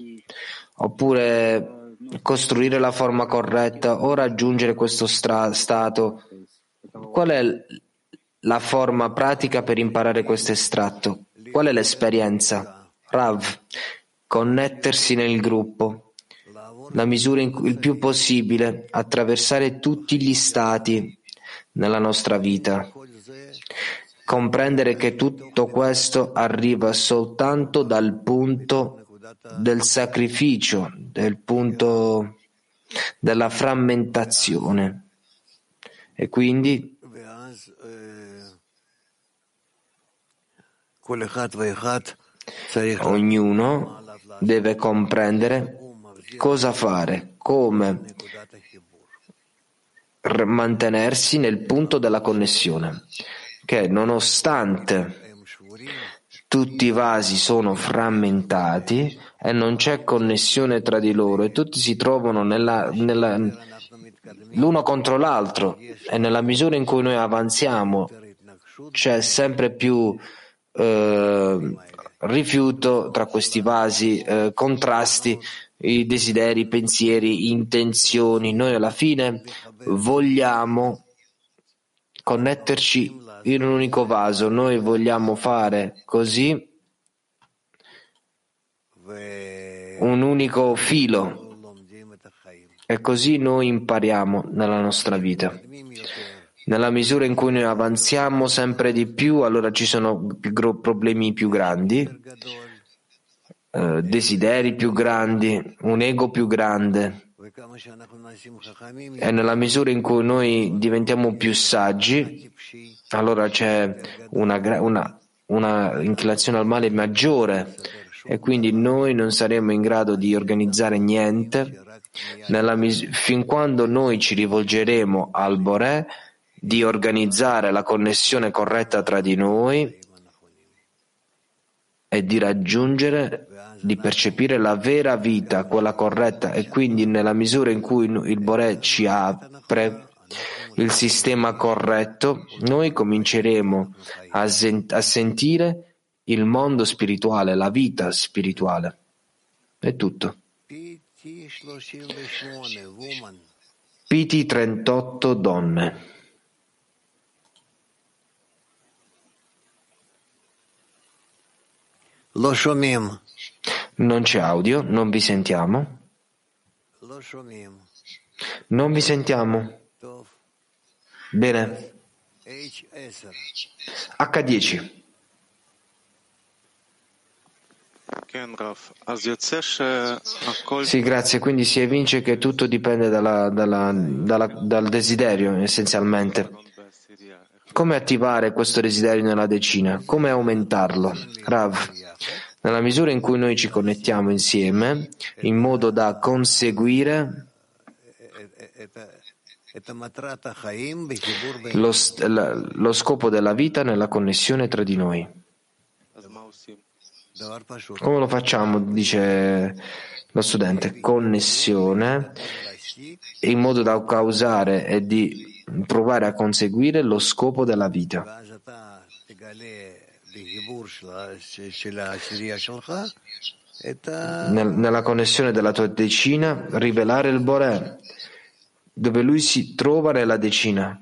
oppure costruire la forma corretta o raggiungere questo stra- stato? Qual è la forma pratica per imparare questo estratto? Qual è l'esperienza? Rav, connettersi nel gruppo, la misura in cui il più possibile, attraversare tutti gli stati nella nostra vita, comprendere che tutto questo arriva soltanto dal punto del sacrificio, del punto della frammentazione. E quindi ognuno deve comprendere cosa fare, come mantenersi nel punto della connessione, che nonostante tutti i vasi sono frammentati e non c'è connessione tra di loro e tutti si trovano nella, nella, l'uno contro l'altro, e nella misura in cui noi avanziamo c'è sempre più eh, rifiuto tra questi vasi, eh, contrasti, i desideri, i pensieri, intenzioni. Noi alla fine vogliamo connetterci in un unico vaso, noi vogliamo fare così un unico filo, e così noi impariamo nella nostra vita. Nella misura in cui noi avanziamo sempre di più, allora ci sono problemi più grandi, eh, desideri più grandi, un ego più grande. E nella misura in cui noi diventiamo più saggi, allora c'è una, una, una inclinazione al male maggiore, e quindi noi non saremo in grado di organizzare niente nella mis- fin quando noi ci rivolgeremo al Boré di organizzare la connessione corretta tra di noi e di raggiungere, di percepire la vera vita, quella corretta. E quindi nella misura in cui il Boré ci apre il sistema corretto, noi cominceremo a, sent- a sentire il mondo spirituale, la vita spirituale. È tutto. P T trentotto donne. Non c'è audio, non vi sentiamo. Non vi sentiamo. Bene. acca dieci. Sì, grazie. Quindi si evince che tutto dipende dalla, dalla, dalla, dal desiderio, essenzialmente. Come attivare questo desiderio nella decina? Come aumentarlo? Rav, nella misura in cui noi ci connettiamo insieme, in modo da conseguire lo, lo scopo della vita nella connessione tra di noi. Come lo facciamo? Dice lo studente. Connessione in modo da causare e di provare a conseguire lo scopo della vita. Nella connessione della tua decina, rivelare il Boré, dove lui si trova nella decina.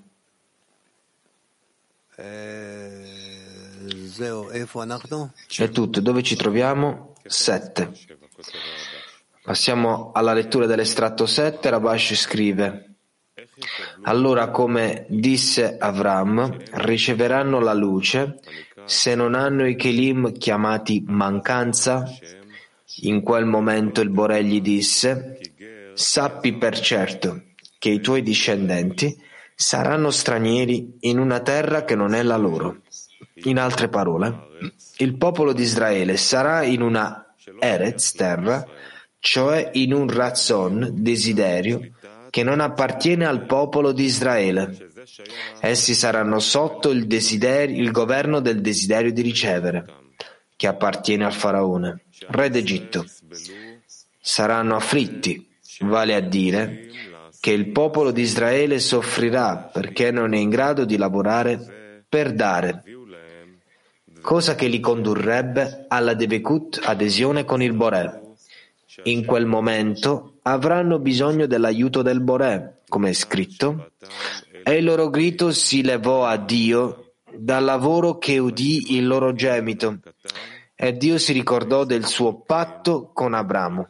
È tutto. Dove ci troviamo? sette. Passiamo alla lettura dell'estratto sette. Rabash scrive: allora, come disse Avram, riceveranno la luce se non hanno i Kelim chiamati mancanza. In quel momento il Boré gli disse: sappi per certo che i tuoi discendenti saranno stranieri in una terra che non è la loro. In altre parole, il popolo di Israele sarà in una Eretz, terra, cioè in un Razzon, desiderio, che non appartiene al popolo di Israele. Essi saranno sotto il desiderio, il governo del desiderio di ricevere, che appartiene al faraone, re d'Egitto. Saranno afflitti, vale a dire che il popolo di Israele soffrirà perché non è in grado di lavorare per dare, cosa che li condurrebbe alla Debekut, adesione con il Boré. In quel momento avranno bisogno dell'aiuto del Boré, come è scritto, e il loro grido si levò a Dio dal lavoro che udì il loro gemito, e Dio si ricordò del suo patto con Abramo.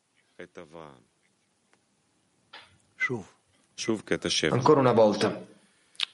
Ancora una volta.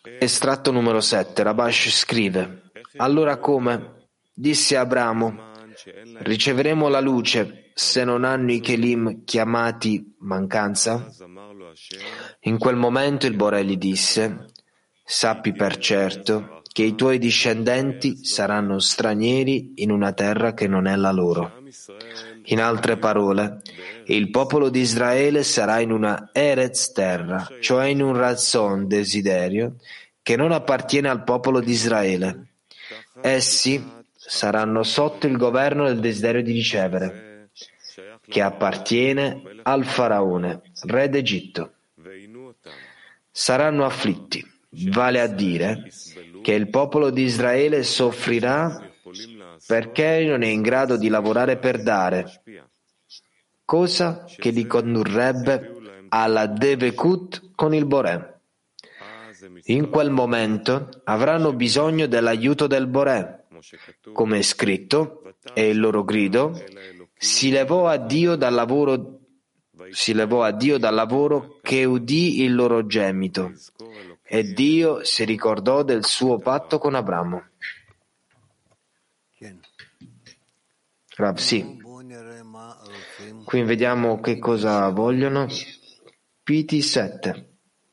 Estratto numero sette. Rabash scrive: allora come disse Abramo, riceveremo la luce se non hanno i Kelim chiamati mancanza? In quel momento il Boré gli disse: sappi per certo che i tuoi discendenti saranno stranieri in una terra che non è la loro. In altre parole, il popolo di Israele sarà in una Eretz terra, cioè in un Razzon desiderio, che non appartiene al popolo di Israele. Essi saranno sotto il governo del desiderio di ricevere, che appartiene al faraone, re d'Egitto. Saranno afflitti, vale a dire che il popolo di Israele soffrirà perché non è in grado di lavorare per dare, cosa che li condurrebbe alla Devekut con il Boré. In quel momento avranno bisogno dell'aiuto del Boré, come è scritto, e il loro grido si levò a Dio dal lavoro, si levò a Dio dal lavoro che udì il loro gemito, e Dio si ricordò del suo patto con Abramo. Rav, sì. Qui vediamo che cosa vogliono. P T sette.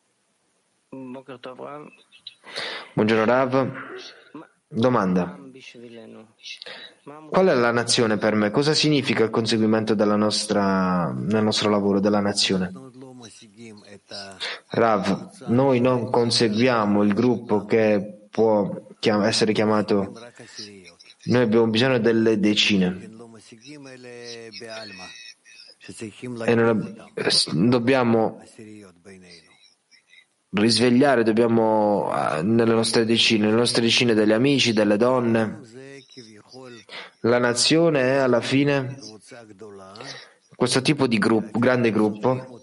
Buongiorno Rav. Domanda. Qual è la nazione per me? Cosa significa il conseguimento della nostra, nel nostro lavoro della nazione? Rav, noi non conseguiamo il gruppo che può essere chiamato, noi abbiamo bisogno delle decine e non dobbiamo risvegliare, dobbiamo nelle nostre decine, nelle nostre decine degli amici, delle donne. La nazione è alla fine questo tipo di gruppo, grande gruppo.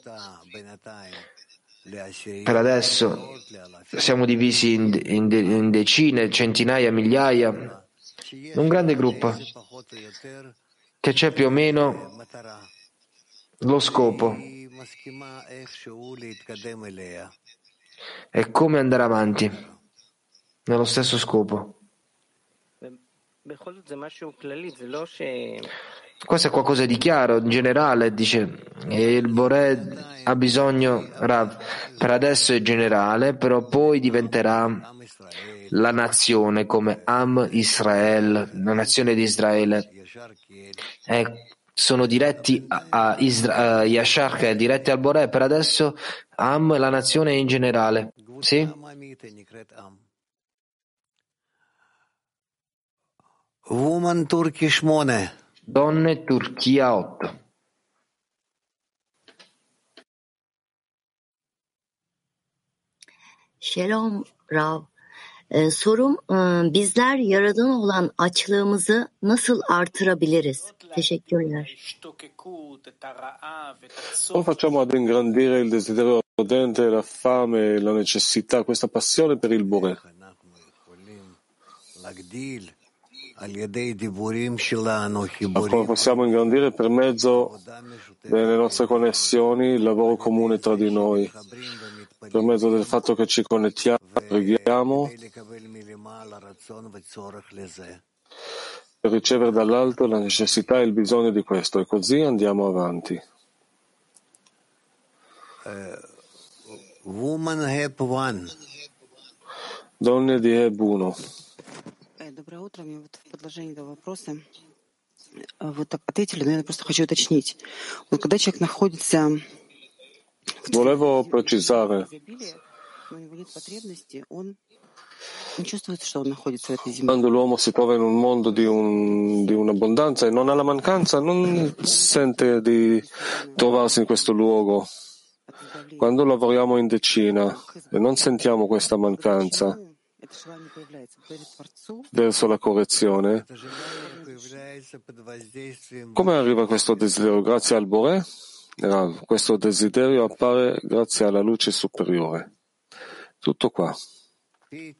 Per adesso siamo divisi in, in, in decine, centinaia, migliaia. Un grande gruppo che c'è più o meno lo scopo e come andare avanti nello stesso scopo. Questo è qualcosa di chiaro, in generale, dice, e il Boré ha bisogno, Rav, per adesso è generale, però poi diventerà la nazione come Am Israel, la nazione di Israele. E sono diretti a, a, Isra, a Yashar, che è diretti al Boré, per adesso Am, la nazione in generale. Sì? Woman Turkish Mone. Donne Turchia otto. Shalom Rav. Ee, sorum bizler Yaradan'a olan açlığımızı nasıl artırabiliriz? Teşekkürler. Come facciamo ad ingrandire il desiderio ardente, la fame, la necessità, questa passione per il Boré? Come possiamo ingrandire per mezzo delle nostre connessioni, il lavoro comune tra di noi, per mezzo del fatto che ci connettiamo, preghiamo per ricevere dall'alto la necessità e il bisogno di questo, e così andiamo avanti. Donne di Heb uno. Доброе утро. Мне вот в продолжении этого вопроса вот ответили, но я просто хочу уточнить. Вот когда человек находится Volevo precisare. но у него нет потребности, он не чувствует, что он находится в этой земле. Quando l'uomo si trova in un mondo di, un, di un'abbondanza e non ha la mancanza, non sente di trovarsi in questo luogo. Quando lavoriamo in decina e non sentiamo questa mancanza verso la correzione, come arriva questo desiderio? Grazie al Boré? Questo desiderio appare grazie alla luce superiore. Tutto qua. P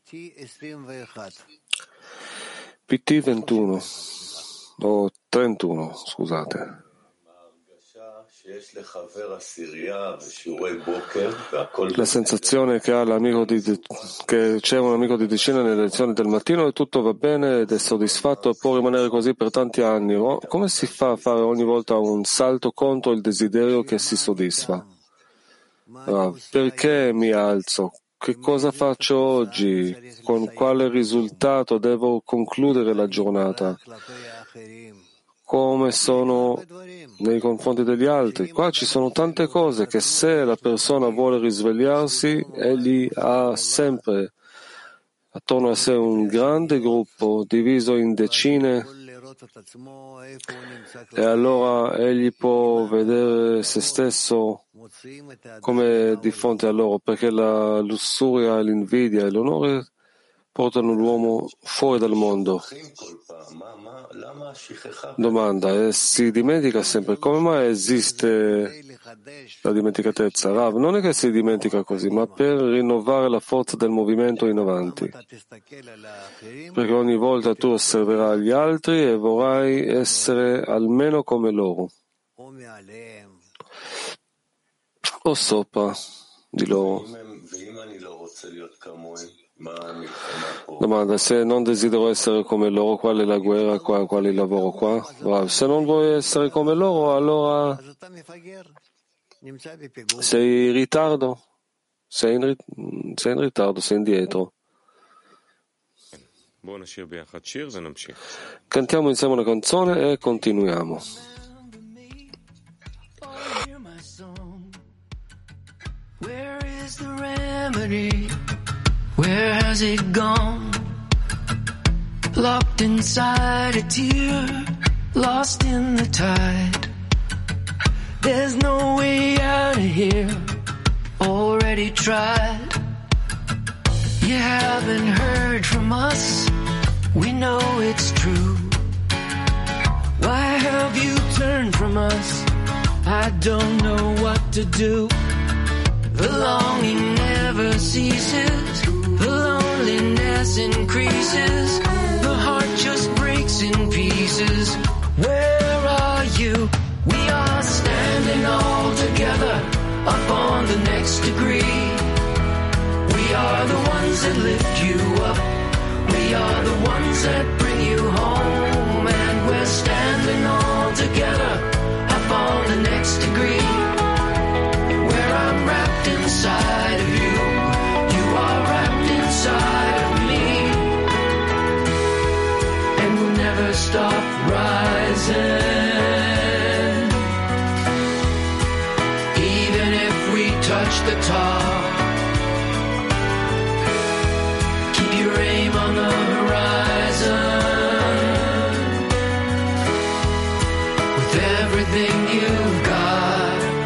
T ventuno o trentuno, scusate. La sensazione che ha l'amico di, che c'è un amico di decina nelle lezioni del mattino e tutto va bene ed è soddisfatto e può rimanere così per tanti anni. Come si fa a fare ogni volta un salto contro il desiderio che si soddisfa? Ah, perché mi alzo? Che cosa faccio oggi? Con quale risultato devo concludere la giornata? Come sono nei confronti degli altri? Qua ci sono tante cose che se la persona vuole risvegliarsi, egli ha sempre attorno a sé un grande gruppo diviso in decine e allora egli può vedere se stesso come di fronte a loro, perché la lussuria, l'invidia e l'onore portano l'uomo fuori dal mondo. Domanda, e si dimentica sempre. Come mai esiste la dimenticatezza? Rav, non è che si dimentica così, ma per rinnovare la forza del movimento in avanti. Perché ogni volta tu osserverai gli altri e vorrai essere almeno come loro, o sopra di loro. Domanda, se non desidero essere come loro, qual è la guerra qua, qual è il lavoro qua? Wow. Se non vuoi essere come loro, allora sei in ritardo, sei in, sei in ritardo, sei indietro. Cantiamo insieme una canzone e continuiamo. Where is the remedy? Where has it gone? Locked inside a tear, lost in the tide. There's no way out of here, already tried. You haven't heard from us, we know it's true. Why have you turned from us? I don't know what to do. The longing never ceases, the loneliness increases, the heart just breaks in pieces. Where are you? We are standing all together up on the next degree. We are the ones that lift you up, we are the ones that bring you home, and we're standing all together up on the next degree. Where I'm wrapped inside of you, you are wrapped inside of me, and we'll never stop rising, even if we touch the top. Keep your aim on the horizon, with everything you've got.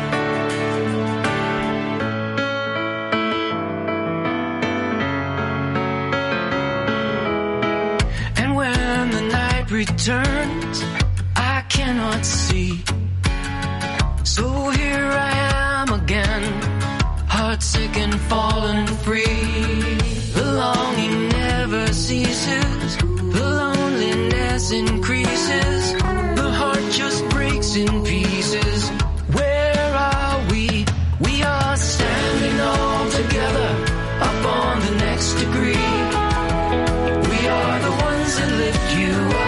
Returns, I cannot see. So here I am again, heartsick and fallen free. The longing never ceases, the loneliness increases, the heart just breaks in pieces. Where are we? We are standing all together up on the next degree. We are the ones that lift you up,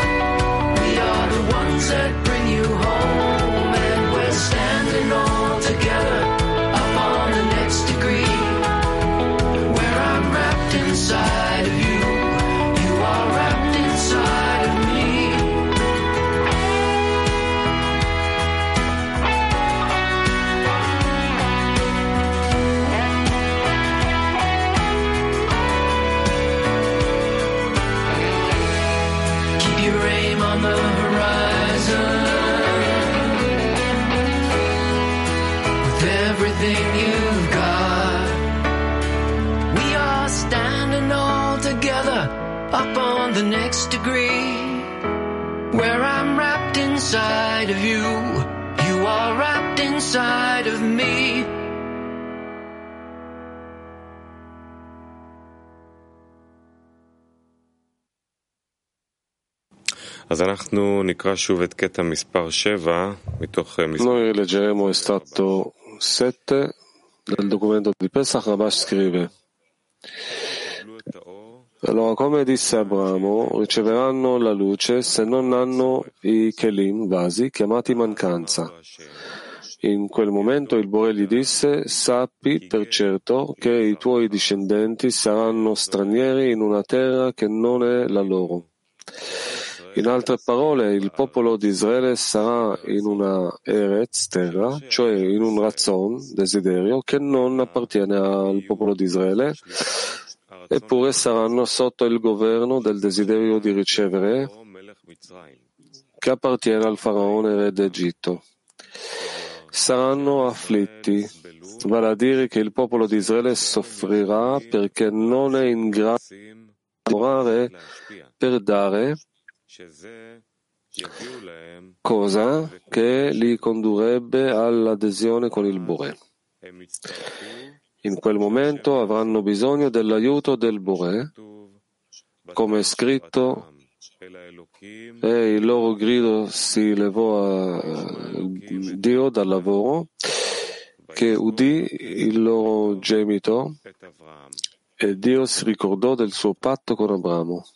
that bring you home, and we're standing all together up on the next degree. Where I'm wrapped inside of you, you are wrapped inside of me. Keep your aim on the horizon, with everything you've got. We are standing all together up on the next degree. Where I'm wrapped inside of you, you are wrapped inside of me. Noi leggeremo estratto sette del documento di Pesach. Rabash scrive: allora, come disse Abramo, riceveranno la luce se non hanno i kelim, vasi, chiamati mancanza. In quel momento il Bore gli disse: sappi per certo che i tuoi discendenti saranno stranieri in una terra che non è la loro. In altre parole, il popolo di Israele sarà in una Eretz, terra, cioè in un razzon, desiderio, che non appartiene al popolo di Israele, eppure saranno sotto il governo del desiderio di ricevere, che appartiene al faraone re d'Egitto. Saranno afflitti, vale a dire che il popolo di Israele soffrirà perché non è in grado di lavorare per dare, cosa che li condurrebbe all'adesione con il Bore. In quel momento avranno bisogno dell'aiuto del Bore, come è scritto, e il loro grido si levò a Dio dal lavoro, che udì il loro gemito, e Dio si ricordò del suo patto con Abramo.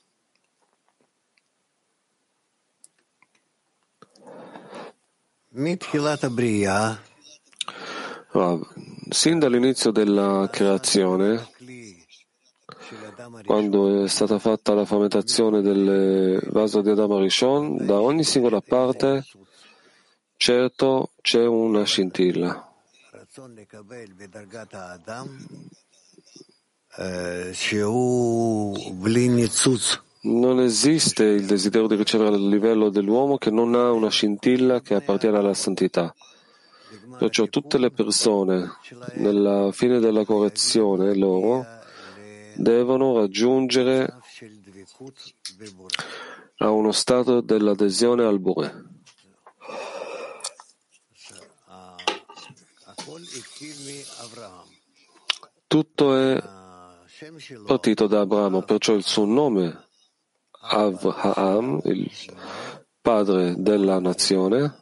Sin dall'inizio della creazione, quando è stata fatta la frammentazione del vaso di Adam Rishon, da ogni singola parte, certo, c'è una scintilla. Non esiste il desiderio di ricevere il livello dell'uomo che non ha una scintilla che appartiene alla santità. Perciò tutte le persone, nella fine della correzione loro, devono raggiungere a uno stato dell'adesione al Bore. Tutto è partito da Abramo, perciò il suo nome, Avraham, il padre della nazione.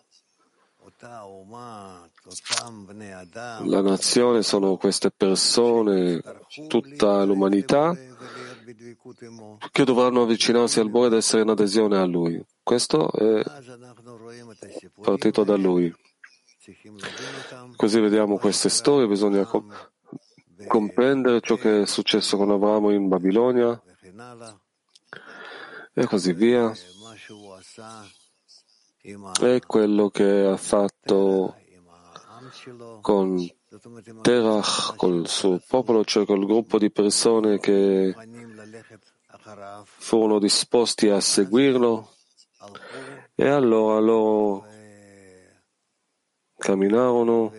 La nazione sono queste persone, tutta l'umanità, che dovranno avvicinarsi al Bore ed essere in adesione a Lui. Questo è partito da Lui. Così vediamo queste storie, bisogna com- comprendere ciò che è successo con Abramo in Babilonia e così via. E quello che ha fatto con Terach, col suo popolo, cioè col gruppo di persone che furono disposti a seguirlo, e allora loro camminarono,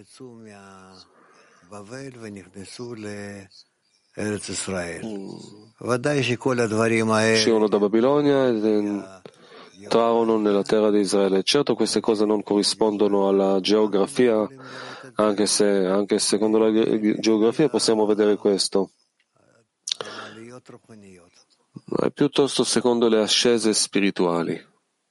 uscirono da Babilonia ed entrarono nella terra di Israele. Certo, queste cose non corrispondono alla geografia, anche se anche secondo la geografia possiamo vedere questo, ma è piuttosto secondo le ascese spirituali.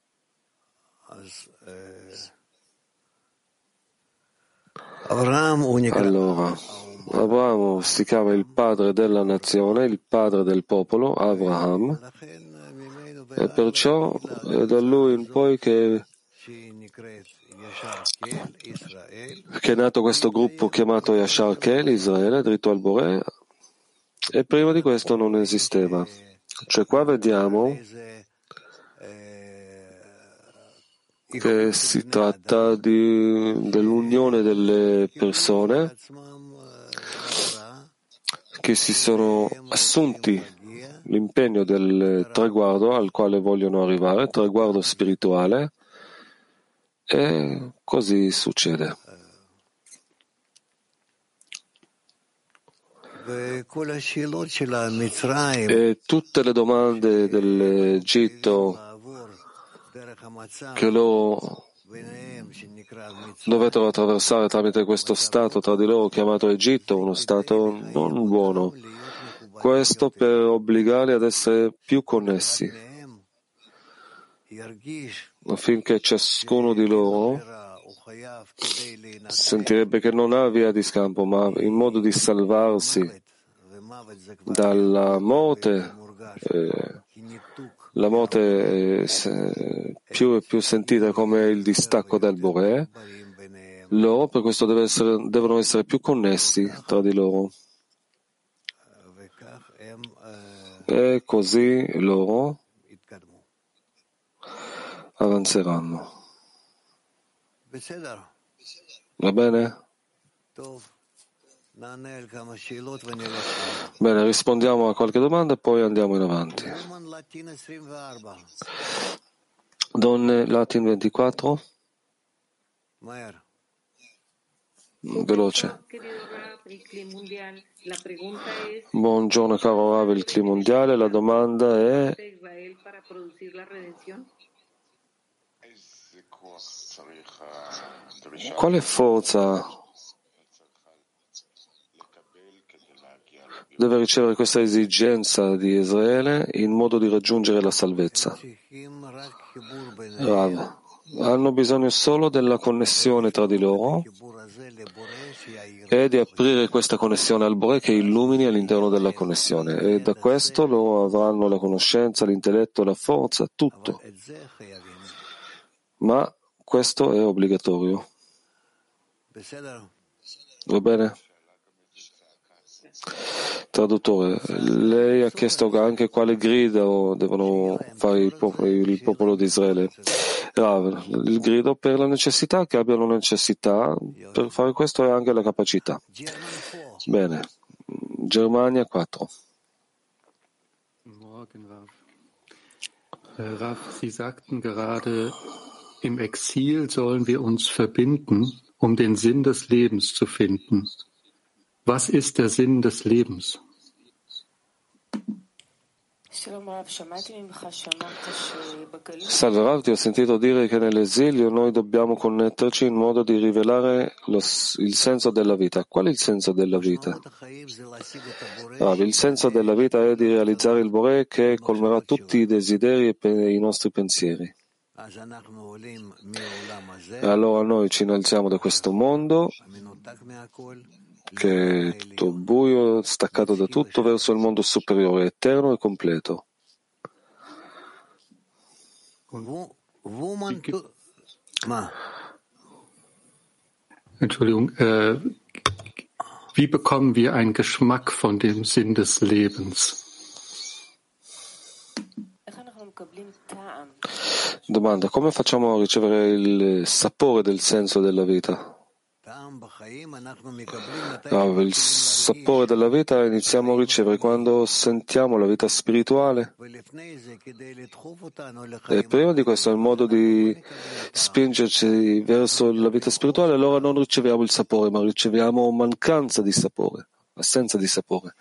Allora, Abramo si chiama il padre della nazione, il padre del popolo, Avraham, e perciò è da lui in poi che, che è nato questo gruppo chiamato Yashar Kel, Israele, dritto al Bore, e prima di questo non esisteva. Cioè qua vediamo che si tratta di, dell'unione delle persone che si sono assunti l'impegno del traguardo al quale vogliono arrivare, traguardo spirituale, e così succede. E tutte le domande dell'Egitto che loro dovettero attraversare tramite questo stato tra di loro chiamato Egitto, uno stato non buono, questo per obbligarli ad essere più connessi. affinché ciascuno di loro sentirebbe che non ha via di scampo, ma in modo di salvarsi dalla morte, eh, la morte è più e più sentita come il distacco dal Boré, loro per questo deve essere, devono essere più connessi tra di loro. E così loro avanzeranno. Va bene? Bene, rispondiamo a qualche domanda e poi andiamo in avanti. Donne Latin ventiquattro. Veloce. Buongiorno caro Rav, il Cli mondiale. La domanda è: quale forza deve ricevere questa esigenza di Israele in modo di raggiungere la salvezza? Rav, hanno bisogno solo della connessione tra di loro e di aprire questa connessione al Boré che illumini all'interno della connessione, e da questo loro avranno la conoscenza, l'intelletto, la forza, tutto. Ma questo è obbligatorio. Va bene? Traduttore, lei ha chiesto anche quale grido devono fare il popolo, il popolo di Israele. Rav, il grido per la necessità, che abbiano necessità, per fare questo è anche la capacità. Bene. Germania quattro. Morgen, Rav. Rav, Sie sagten gerade, im Exil sollen wir uns verbinden, um den Sinn des Lebens zu finden. Was ist der Sinn des Lebens? Salve Rav, ti ho sentito dire che nell'esilio noi dobbiamo connetterci in modo di rivelare lo, il senso della vita. Qual è il senso della vita? Rav, il senso della vita è di realizzare il Boré che colmerà tutti i desideri e i nostri pensieri. E allora noi ci innalziamo da questo mondo che è tutto buio, staccato da tutto, verso il mondo superiore, eterno e completo. Entschuldigung, äh, wie bekommen wir einen Geschmack von dem Sinn des Lebens? Domanda: come facciamo a ricevere il sapore del senso della vita? No, il sapore della vita iniziamo a ricevere quando sentiamo la vita spirituale, e prima di questo il modo di spingerci verso la vita spirituale, allora non riceviamo il sapore, ma riceviamo mancanza di sapore, assenza di sapore.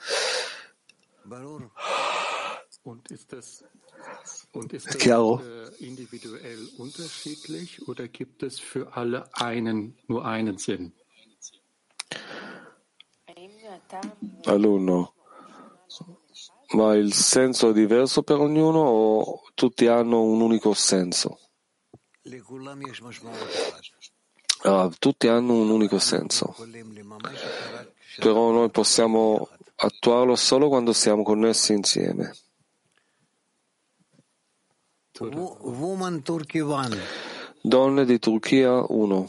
È chiaro? Individuell unterschiedlich oder gibt es für alle einen, nur einen Sinn? Alunno, ma il senso è diverso per ognuno o tutti hanno un unico senso? Ah, tutti hanno un unico senso, però noi possiamo attuarlo solo quando siamo connessi insieme. Donne di Turchia uno.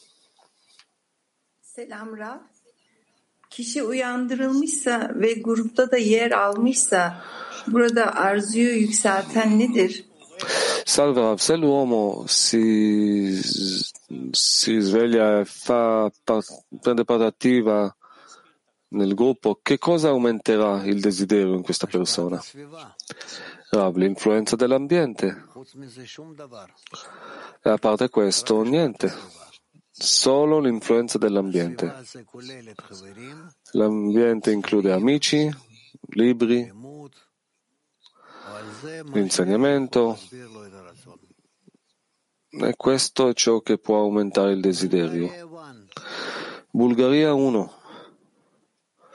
Selam Rav. Kişi uyandırılmışsa ve grupta da yer almışsa burada arzuyu yükselten nedir? Salve Rav, se l'uomo si, si sveglia e fa, prende parte attiva nel gruppo, che cosa aumenterà il desiderio in questa persona? Rav, l'influenza dell'ambiente. E a parte questo, niente. Solo l'influenza dell'ambiente. L'ambiente include amici, libri, l'insegnamento, e questo è ciò che può aumentare il desiderio. Bulgaria uno.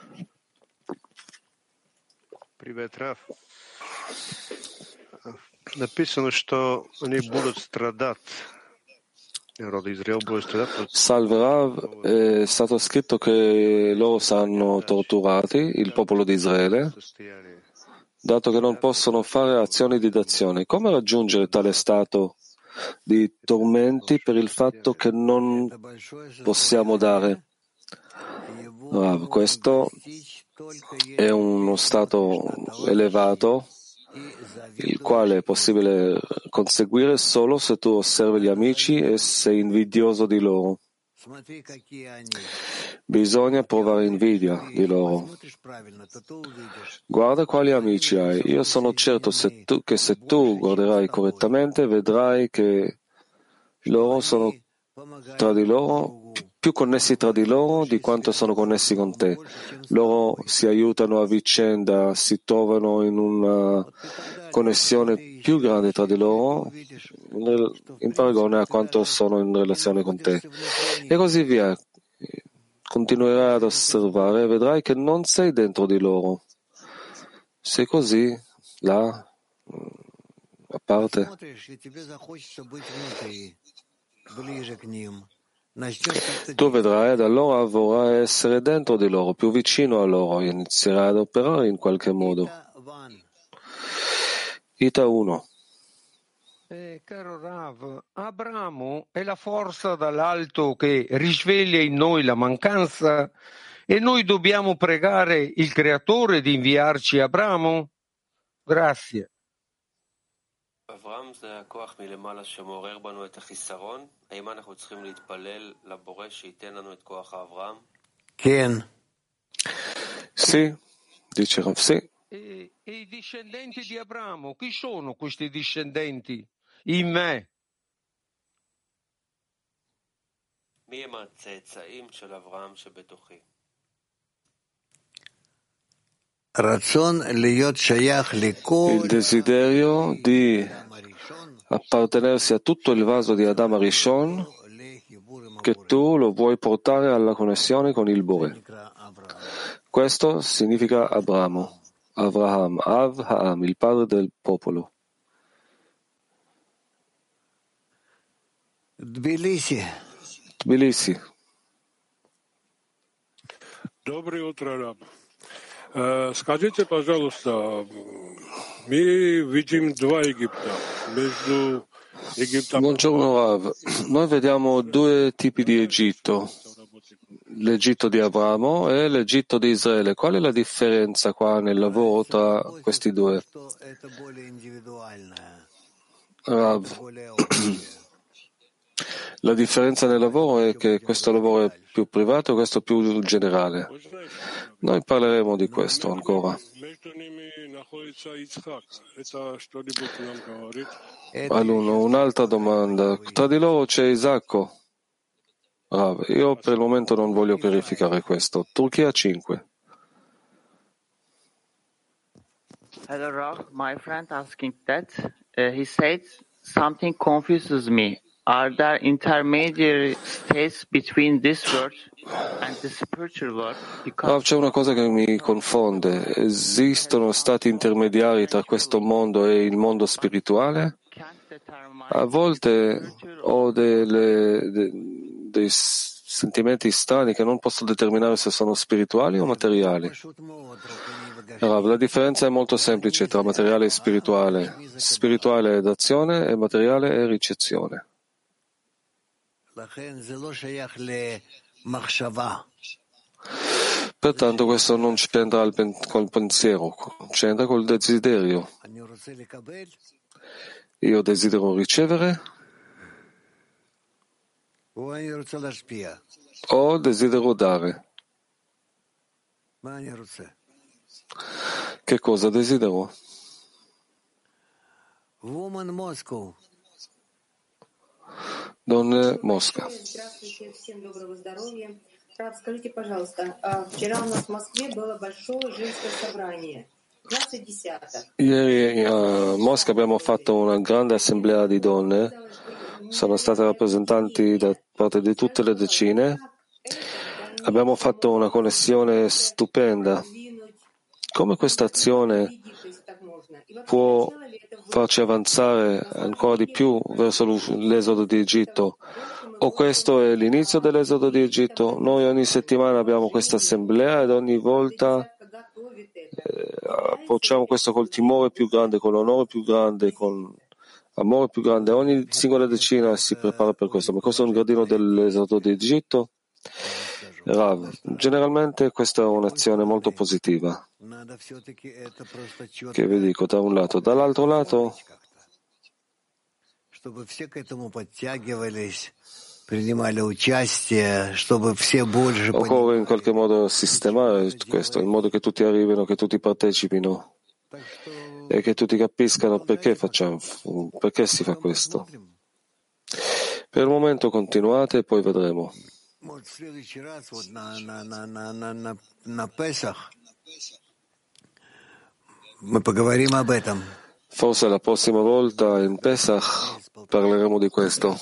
Привет, Раф. Salve Rav, è stato scritto che loro saranno torturati, il popolo di Israele, dato che non possono fare azioni di dazione. Come raggiungere tale stato di tormenti per il fatto che non possiamo dare? Rav, questo è uno stato elevato, il quale è possibile conseguire solo se tu osservi gli amici e sei invidioso di loro. Bisogna provare invidia di loro. Guarda quali amici hai. Io sono certo se tu, che se tu guarderai correttamente vedrai che loro sono tra di loro più connessi tra di loro di quanto sono connessi con te. Loro si aiutano a vicenda, si trovano in una connessione più grande tra di loro in paragone a quanto sono in relazione con te. E così via. Continuerai ad osservare e vedrai che non sei dentro di loro. Sei così, là, a parte. Tu vedrai, da allora vorrai essere dentro di loro, più vicino a loro, e inizierai ad operare in qualche modo. Ita uno. Eh, caro Rav, Abramo è la forza dall'alto che risveglia in noi la mancanza e noi dobbiamo pregare il Creatore di inviarci Abramo? Grazie. אברהם זה הכוח מלמעלה שמעורר בנו את החיסרון. האם אנחנו צריכים להתפלל לבורא שייתן לנו את כוח האברהם? כן. Sì, dice Rav, sì. E, e i discendenti di Abramo, chi sono questi discendenti? In me. מי הם הצאצאים של אברהם שבתוכי? Il desiderio di appartenersi a tutto il vaso di Adam Arishon, che tu lo vuoi portare alla connessione con il Bore. Questo significa Abramo, Avraham, Av Ha'am, il padre del popolo. Tbilisi. Tbilisi. Доброе утро, Раб. Скажите, пожалуйста, мы видим два Египта. Между Египтом... Buongiorno Rav, noi vediamo due tipi di Egitto, l'Egitto di Abramo e l'Egitto di Israele. Qual è la differenza qua nel lavoro tra questi due? Rav, la differenza nel lavoro è che questo lavoro è più privato e questo più generale. Noi parleremo di questo ancora. Allora, un'altra domanda. Tra di loro c'è Isacco? Rav, io per il momento non voglio verificare questo. Turchia cinque. Hello Rav, my friend asking that. Uh, he said something confuses me. Are there intermediary states between this world and the spiritual world? Because... Oh, c'è una cosa che mi confonde. Esistono stati intermediari tra questo mondo e il mondo spirituale? A volte ho delle, de, dei sentimenti strani che non posso determinare se sono spirituali o materiali. La differenza è molto semplice tra materiale e spirituale. Spirituale è d'azione e materiale è ricezione. Pertanto questo non c'entra col pensiero, c'entra col desiderio. Io desidero ricevere o desidero dare. Che cosa desidero? Donne Mosca. Скажите, пожалуйста, вчера у нас в Москве было большое женское собрание. двадцать десяток. Ieri a Mosca abbiamo fatto una grande assemblea di donne, sono state rappresentanti da parte di tutte le decine, abbiamo fatto una connessione stupenda. Come questa azione può farci avanzare ancora di più verso l'esodo di Egitto, o questo è l'inizio dell'esodo di Egitto? Noi ogni settimana abbiamo questa assemblea ed ogni volta eh, approcciamo questo col timore più grande, con l'onore più grande, con amore più grande. Ogni singola decina si prepara per questo, ma questo è un gradino dell'esodo di Egitto. Rav, generalmente questa è un'azione molto positiva, che vi dico da un lato. Dall'altro lato occorre in qualche modo sistemare questo, in modo che tutti arrivino, che tutti partecipino e che tutti capiscano perché facciamo, perché si fa questo. Per il momento continuate e poi vedremo. Forse la prossima volta in Pesach parleremo di questo.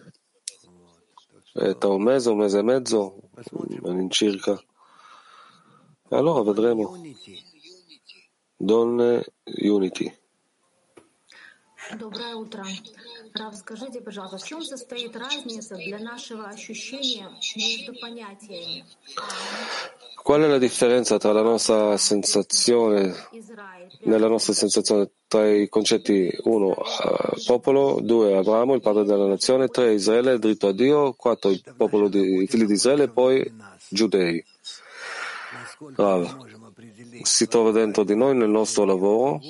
È tra un mese, un mese e mezzo, all'incirca. E allora vedremo. Donne Unity. Доброе утро. Рав, скажите, пожалуйста, в чем состоит разница для нашего ощущения между понятиями? Qual è la differenza tra la nostra sensazione, nella nostra sensazione tra i concetti uno, uh, popolo, due, Abramo, il padre della nazione, tre, Israele, dritto a Dio, quattro, il popolo di, i figli di Israele, e poi giudei. Rav, si trova dentro di noi nel nostro lavoro,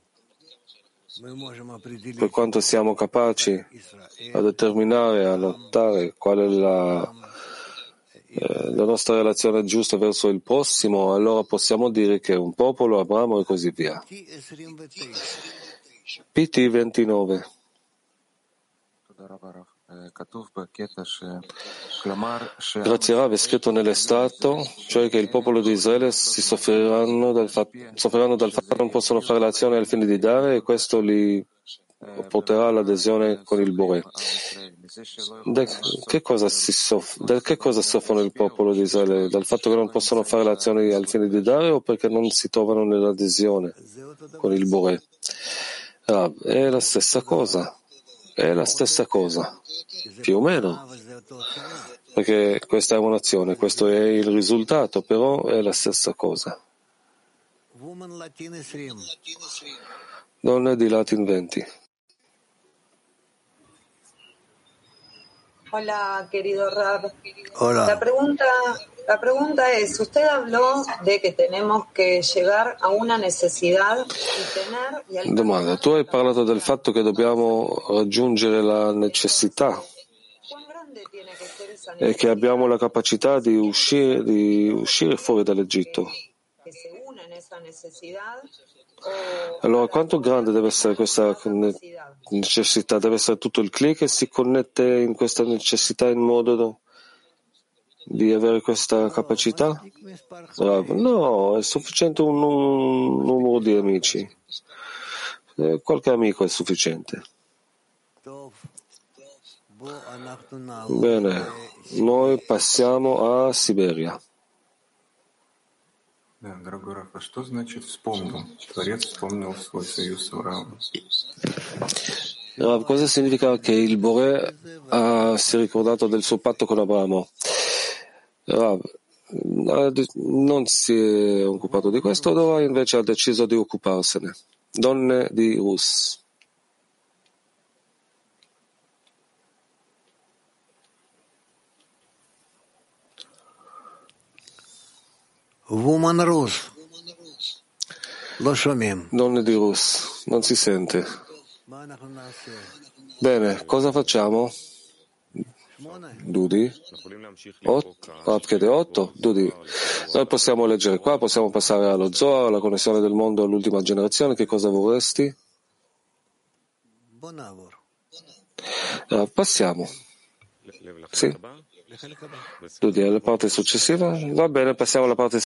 per quanto siamo capaci a determinare, a notare qual è la, eh, la nostra relazione giusta verso il prossimo, allora possiamo dire che è un popolo, Abramo e così via. P T ventinove. Grazie Rav, è scritto nell'estratto, cioè che il popolo di Israele si soffriranno dal fatto, soffriranno dal fatto che non possono fare l'azione al fine di dare, e questo li porterà all'adesione con il Boré. Da che cosa si soff- da che cosa soffrono il popolo di Israele? Dal fatto che non possono fare l'azione al fine di dare, o perché non si trovano nell'adesione con il Boré? Rav, è la stessa cosa. È la stessa cosa, più o meno, perché questa è un'azione, questo è il risultato, però è la stessa cosa. Donne di Latin venti. Hola, querido Rab. Hola. La pregunta, la pregunta es, usted habló de que tenemos que llegar a una necesidad y tener... Y al... Domanda, tu hai parlato del fatto che dobbiamo raggiungere la necessità e che abbiamo la capacità di uscire, di uscire fuori dall'Egitto. Allora, quanto grande deve essere questa necessità? Deve essere tutto il click che si connette in questa necessità in modo di avere questa capacità? No, è sufficiente un, un numero di amici. Qualche amico è sufficiente. Bene, noi passiamo a Siberia. Да, дорогой Раф, а что значит вспомнил? Творец вспомнил свой союз с Авраамом. Rav, cosa significa che il Boré ha, si è ricordato del suo patto con Abramo? Rav, non si è occupato di questo, ora invece ha deciso di occuparsene. Donne di Rus. Woman Rus. Lo shomim. Donne di Rus, non si sente. Bene, cosa facciamo? Dudi? Rav chiede otto? Dudi. Noi possiamo leggere qua, possiamo passare allo Zohar, alla connessione del mondo all'ultima generazione. Che cosa vorresti? Ah, passiamo. Sì. Dudi, alla parte successiva? Va bene, passiamo alla parte